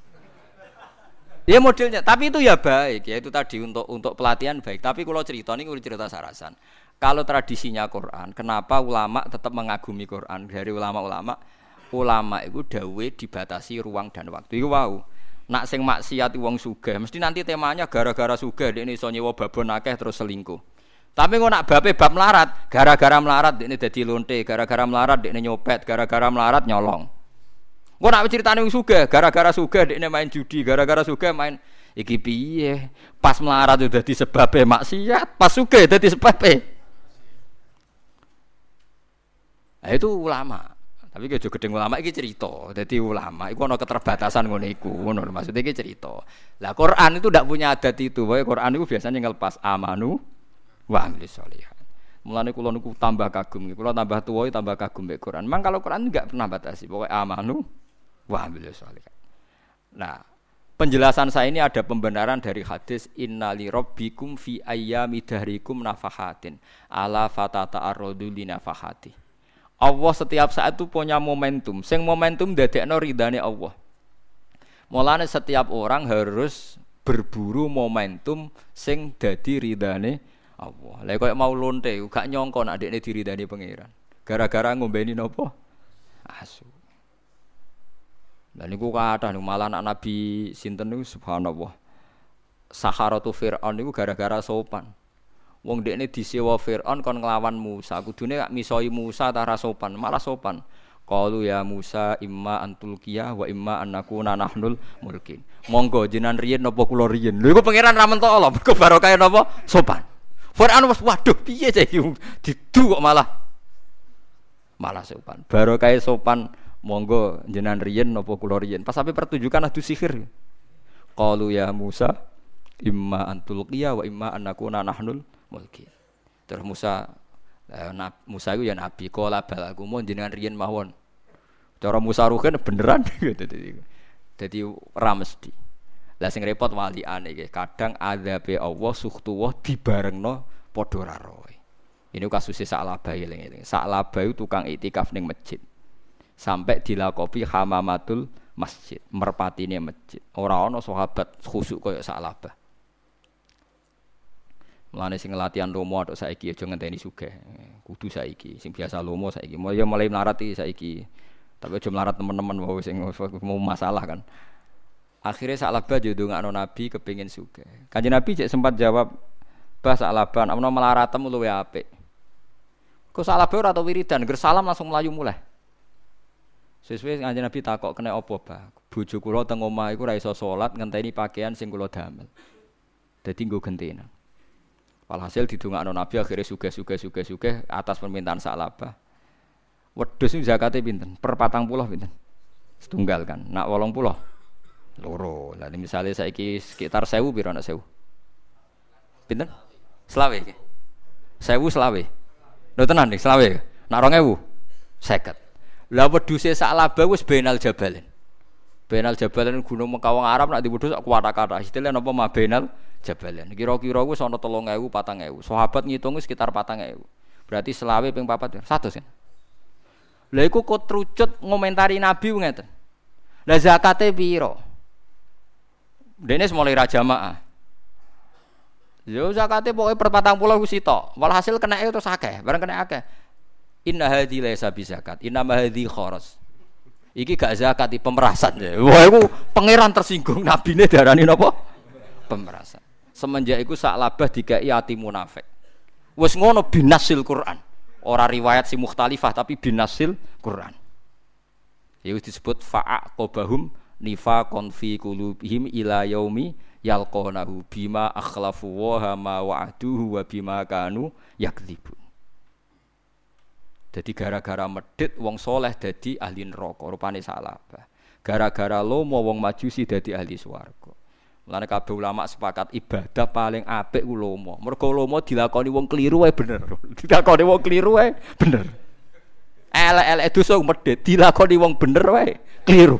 Ya modelnya, tapi itu ya baik ya itu tadi untuk untuk pelatihan baik. Tapi kalau cerita ini kalau cerita sarasan, kalau tradisinya Quran, kenapa ulama tetap mengagumi Quran? Dari ulama-ulama, ulama itu dawe dibatasi ruang dan waktu. Itu wow. Nak sing maksiat wong sugih, mesti nanti temanya gara-gara sugih dekne iso nyewa babon akeh terus selingkuh. Tapi kok nak bape bab melarat, gara-gara melarat dekne dadi lonte, gara-gara melarat dekne nyopet, gara-gara melarat nyolong. Kok nak ceritane wong sugih, gara-gara sugih dekne main judi, gara-gara sugih main iki piye? Pas melarat itu dadi sebabe maksiat, pas sugih dadi sebabe. Nah, itu ulama. Tapi aja gedeng ulama iki cerita. Dadi ulama iku ana keterbatasan ngono iku. Ngono maksudnya iki cerita. Lah Quran itu ndak punya adat itu. Wae Quran itu biasanya ngelepas amanu wa amilis sholihat. Mulane kula niku tambah kagum. Kula tambah tuwa tambah kagum mek Quran. Memang kalau Quran enggak pernah batasi. Pokoke amanu wa amilis sholihat. Nah, penjelasan saya ini ada pembenaran dari hadis innali rabbikum fi ayyami dahrikum nafahatin ala fatata arrodu li nafahati. Allah setiap saat itu punya momentum. Sing momentum dadekno ridane Allah. Mulane setiap orang harus berburu momentum sing dadi ridane Allah. Lah koyo mau lonte gak nyongko nek adekne diridani pangeran. Gara-gara ngombeni napa? Asu. Lah niku kathah niku malah anak Nabi sinten niku subhanallah. Saharatu Fir'aun niku gara-gara sopan. Wong dekne disewa Fir'aun kon nglawan Musa. Kudune gak misoi Musa ta ra sopan, malah sopan. Qalu ya Musa imma antulqiyah wa imma annakuna nahnul mulkin. Monggo jenengan riyen napa kula riyen. Lho iku pangeran ra mentok Allah, mergo barokah napa? Sopan. Fir'aun wis waduh piye iki didu kok malah malah sopan. Barokah sopan monggo jenengan riyen napa kula riyen. Pas sampai pertunjukan adu sihir. Qalu ya Musa imma antulqiyah wa imma annakuna nahnul mulkin. Terus Musa Nah, Musa itu ya nabi, kola balaku mau jenengan riyen mawon. Cara Musa rugen beneran gitu. Jadi ora mesti. Lah sing repot waliane iki, kadang adzabe Allah sukhtuwah dibarengno padha ra roe. Ini kasusé Sa'labah eling-eling. Sa'labah itu tukang iktikaf ning masjid. Sampai dilakopi hamamatul masjid, merpatine masjid. Ora ana sahabat khusuk kaya Sa'labah. Mulane sing latihan lomo atok saiki aja ngenteni sugih. Kudu saiki. Sing biasa lomo saiki. Mulai mulai melarat iki saiki. Tapi aja melarat teman-teman wae sing mau masalah kan. Akhirnya Sa'labah ndongakno Nabi kepengin sugih. Kanjeng Nabi cek sempat jawab, "Bah Sa'labah, ana melaratem luwe apik." Kok Sa'labah ora tau wiridan, ger salam langsung mlayu muleh. Sesuai Kanjeng Nabi takok kena apa, Bah? Bojo kula teng omah iku ora iso salat ngenteni pakaian sing kula damel. Dadi nggo gentenan. Walhasil didongakno Nabi akhirnya sugih-sugih-sugih-sugih atas permintaan Sa'labah. Wedhus niku zakate pinten? Per patang puluh pinten? Setunggal kan. Nak wolong puluh loro. Lah misale saiki sekitar seribu pira nak seribu? Pinten? Selawe iki. seribu selawe. Lho tenan iki selawe. Nak dua ribu seket. Lah wedhuse Sa'labah wis benal jabalen. Benal jabalen gunung Mekawang Arab nak diwedhus sak kuwata-kata. Istilah napa ma benal jabalen. Kira-kira wis ana telung ewu patang ewu. Sahabat ngitung sekitar patang ewu. Berarti selawe ping papat seratus kan. Lha iku kok trucut ngomentari Nabi ngeten. Lah zakate pira? Dene mulai ra jamaah. Yo zakate pokoke per patang puluh wis sitok. Walhasil kenake terus akeh, bareng kena akeh. Inna hadhi laisa bi zakat, inna ma hadhi kharas. Iki gak zakat, iki pemerasan. Wah iku pangeran tersinggung, nabine darani napa? Pemerasan. Semenjak iku Sa'labah dikai ati munafik. Wis ngono binasil Quran. Ora riwayat si mukhtalifah tapi binasil Quran. Ya wis disebut fa'aqobahum nifaqon fi qulubihim ila yaumi yalqanahu bima akhlafu wa ma wa'aduhu wa bima kanu yakdzibun. Jadi gara-gara medhit wong soleh dadi ahli neraka rupane Sa'labah. Gara-gara lomo wong majusi dadi ahli swarga. Mulane kabeh ulama sepakat ibadah paling apik ku lomo. Mergo lomo dilakoni wong kliru wae bener. Dilakoni wong kliru wae bener. Elek-elek dosa medhit dilakoni wong bener wae kliru.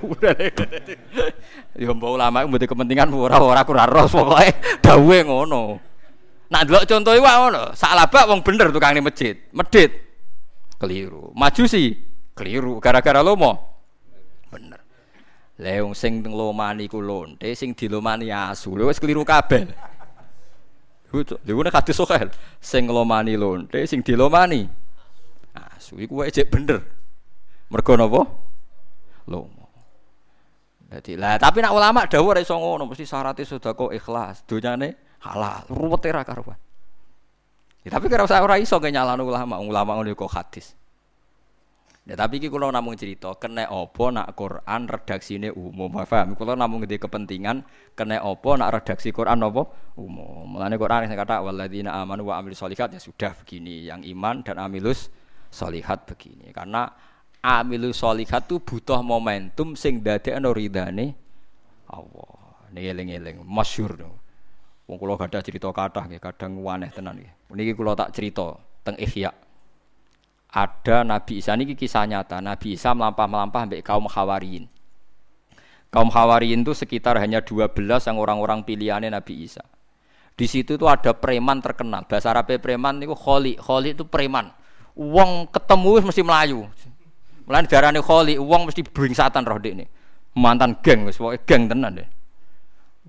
Ya mbok ulama mboten kepentingan ora-ora ora ros pokoke dawuhe ngono. Nak ndelok contohe wae ngono. Sa'labah wong bener tukang ning masjid, medhit keliru. Majusi keliru gara-gara lomo bener. Leung sing nglomani ku lonte sing dilomani asu. Lha wis keliru kabeh. Lho nek hadis sahih sing nglomani lonte sing dilomani asu iku wae jek bener. Mergo napa? Lomo. Dadi lah tapi nek ulama dawuh ora iso ngono, mesti syaratnya sedekah ikhlas, donyane halal. Ruwete ra karuan. Ya tapi kira ora iso nyalano ulama, ulama ngono kok hadis. Ya tapi iki kula namung cerita kena apa nak Quran redaksine umum. Paham? Kula namung ngene kepentingan kena apa nak redaksi Quran apa umum. Mulane Quran sing kata walladzina amanu wa amilus sholihat ya sudah begini, yang iman dan amilus sholihat begini. Karena amilus sholihat itu butuh momentum sing dadekno ridane Allah. Niki eling-eling masyhur no. Wong kula gadah cerita kathah nggih, kadang waneh tenan nggih. Niki kula tak cerita teng Ihya. Ada Nabi Isa, ini kisah nyata. Nabi Isa melampah-melampah sampai kaum Hawariyin. Kaum Hawariyin itu sekitar hanya dua belas yang orang-orang pilihannya Nabi Isa. Di situ tuh ada preman terkenal. Bahasa Arabnya preman itu kholi. Kholi itu preman. Wong ketemu mesti melayu. Mulane darane kholi, wong mesti bringsatan roh dekne. Mantan geng wis pokoke geng tenan deh.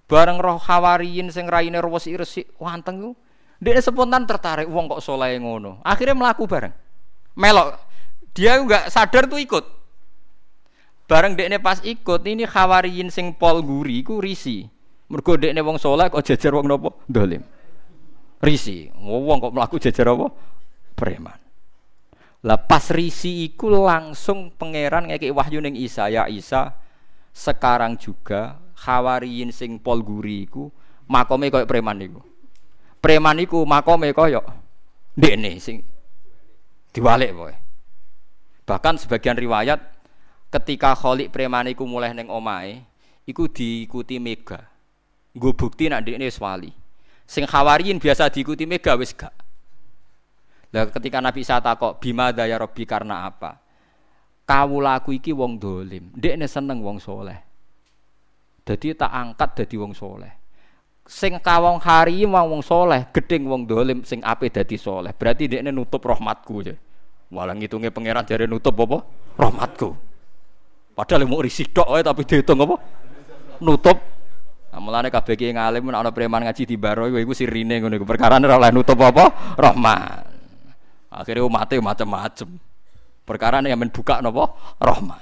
Bareng roh Hawariyin sing raine resik-resik wanteng ku. Dia spontan tertarik wong kok saleh ngono. Akhirnya melaku bareng. Melok. Dia enggak sadar tuh ikut. Bareng dekne pas ikut ini Hawariyin sing pol guri ku risi. Mergo dekne wong saleh kok jejer wong napa? Dolim. Risi. Wong kok mlaku jejer apa? Preman. Lah pas risi iku langsung pangeran ngekeki wahyu ning Isa, ya Isa, sekarang juga Hawariyin sing pol guri iku makome koyo preman iku. Preman iku makome koyo ndekne sing diwalik pokoke. Bahkan sebagian riwayat ketika kholik preman iku mulai ning omahe iku diikuti Mega. Nggo bukti nek ndekne wis wali. Sing Hawariyin biasa diikuti Mega wis gak. Lah ketika Nabi Isa takok bima daya Rabbi karena apa? Kawulaku iki wong dolim, ndekne seneng wong soleh. Dadi tak angkat dadi wong soleh. Sing kawong hari wong wong soleh, gedeng wong dolim sing ape dadi soleh. Berarti ndekne nutup rahmatku ya. Walah ngitunge pangeran jare nutup apa? Rahmatku. Padahal mau risih tok wae tapi diitung apa? Nutup. Nah, mulane kabeh ki ngalim nek ana preman ngaji di baro iku sirine ngono iku perkarane ora oleh nutup apa? Rahmat. Akhirnya umatnya macam-macam. Perkara yang men buka napa? Rahmat.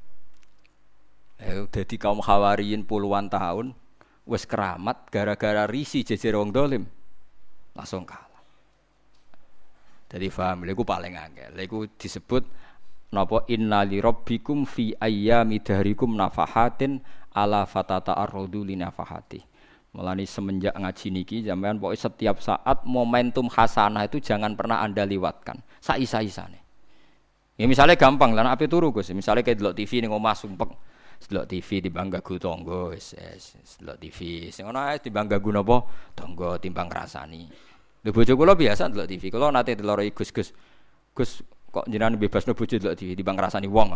Eh dadi kaum Hawariyin puluhan tahun wis keramat gara-gara risi jejer wong dolim. Langsung kalah. Jadi paham lha iku paling angel. Lha iku disebut napa inna li rabbikum fi ayyami dahrikum nafahatin ala fatata arrudu li nafahati. Mulane semenjak ngaji niki sampean pokoke setiap saat momentum hasanah itu jangan pernah Anda lewatkan. Saisa-isane. Ya misalnya gampang lah nek ape turu Gus. Misale kayak delok T V ning omah sumpek. Delok T V timbang gagu tangga wis delok T V. Sing ono ae timbang gagu napa? Tangga timbang ngrasani. Lho bojo kula biasa delok T V. Kula nate delok Gus-Gus. Gus kok jenengan bebasno bojo delok T V timbang ngrasani wong.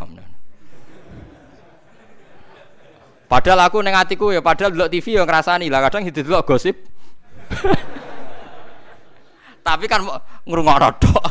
Padahal aku ning atiku ya padahal delok T V ya ngrasani lah kadang didelok gosip. Tapi kan ngrungokno tok.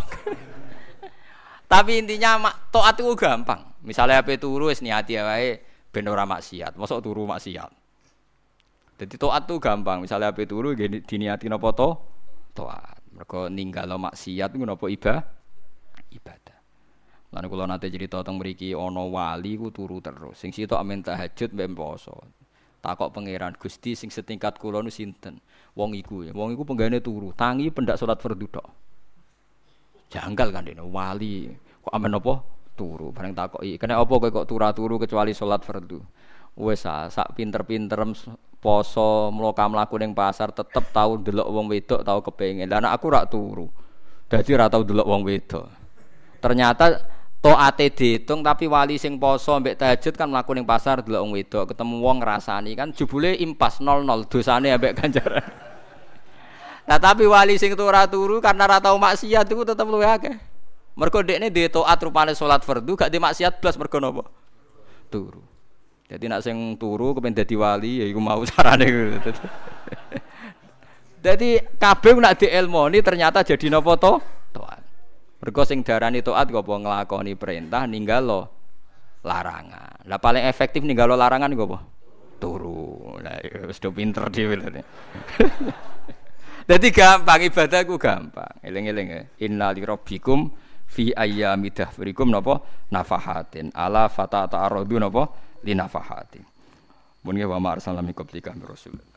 Tapi intinya taat itu gampang. Misalnya ape turu wis niati wae ben ora maksiat. Mosok turu maksiat. Dadi taat itu gampang. Misalnya ape turu diniati napa to? Taat. Mergo ninggalo maksiat iku napa ibadah? Ibadah. Lan kula nate cerita teng mriki ana wali ku turu terus. Sing sitok amen tahajud mbek poso. Takok pangeran Gusti sing setingkat kula nu sinten? Wong iku ya. Wong iku penggane turu, tangi pendak salat fardu tok. Janggal kan dene wali kok amen apa turu. Bareng takoki, "Kene apa kowe kok turu-turu kecuali salat fardu?" Wis sak pinter-pinterem poso mloka mlaku ning pasar tetep tau ndelok wong wedok tau kepengin. Lah nek aku rak turu. Dadi ora tau ndelok wong wedok. Ternyata taate diitung tapi wali sing poso mbek tahajud kan mlaku ning pasar delok wong wedok, ketemu wong ngrasani kan jebule impas nol nol dosane ambek ganjaran. Nah tapi wali sing ora turu karena ora tau maksiat iku tetep luwih akeh. Mergo dekne duwe taat rupane salat fardu gak di maksiat blas mergo napa? Turu. Jadi nek sing turu kepen dadi wali ya iku mau carane. Jadi kabeh nek dielmoni ternyata jadi napa to? Taat. Mergo sing darani taat kok apa nglakoni perintah ninggalo larangan. Lah paling efektif ninggalo larangan iku apa? Turu. Lah wis do pinter dhewe lho. Dadi gampang ibadah ku gampang. Eling-eling ya. Inna li rabbikum fi ayyami dahrikum napa nafahatin ala fatata aradu napa li nafahatin. Mun wa ma arsalna min qablika rasul.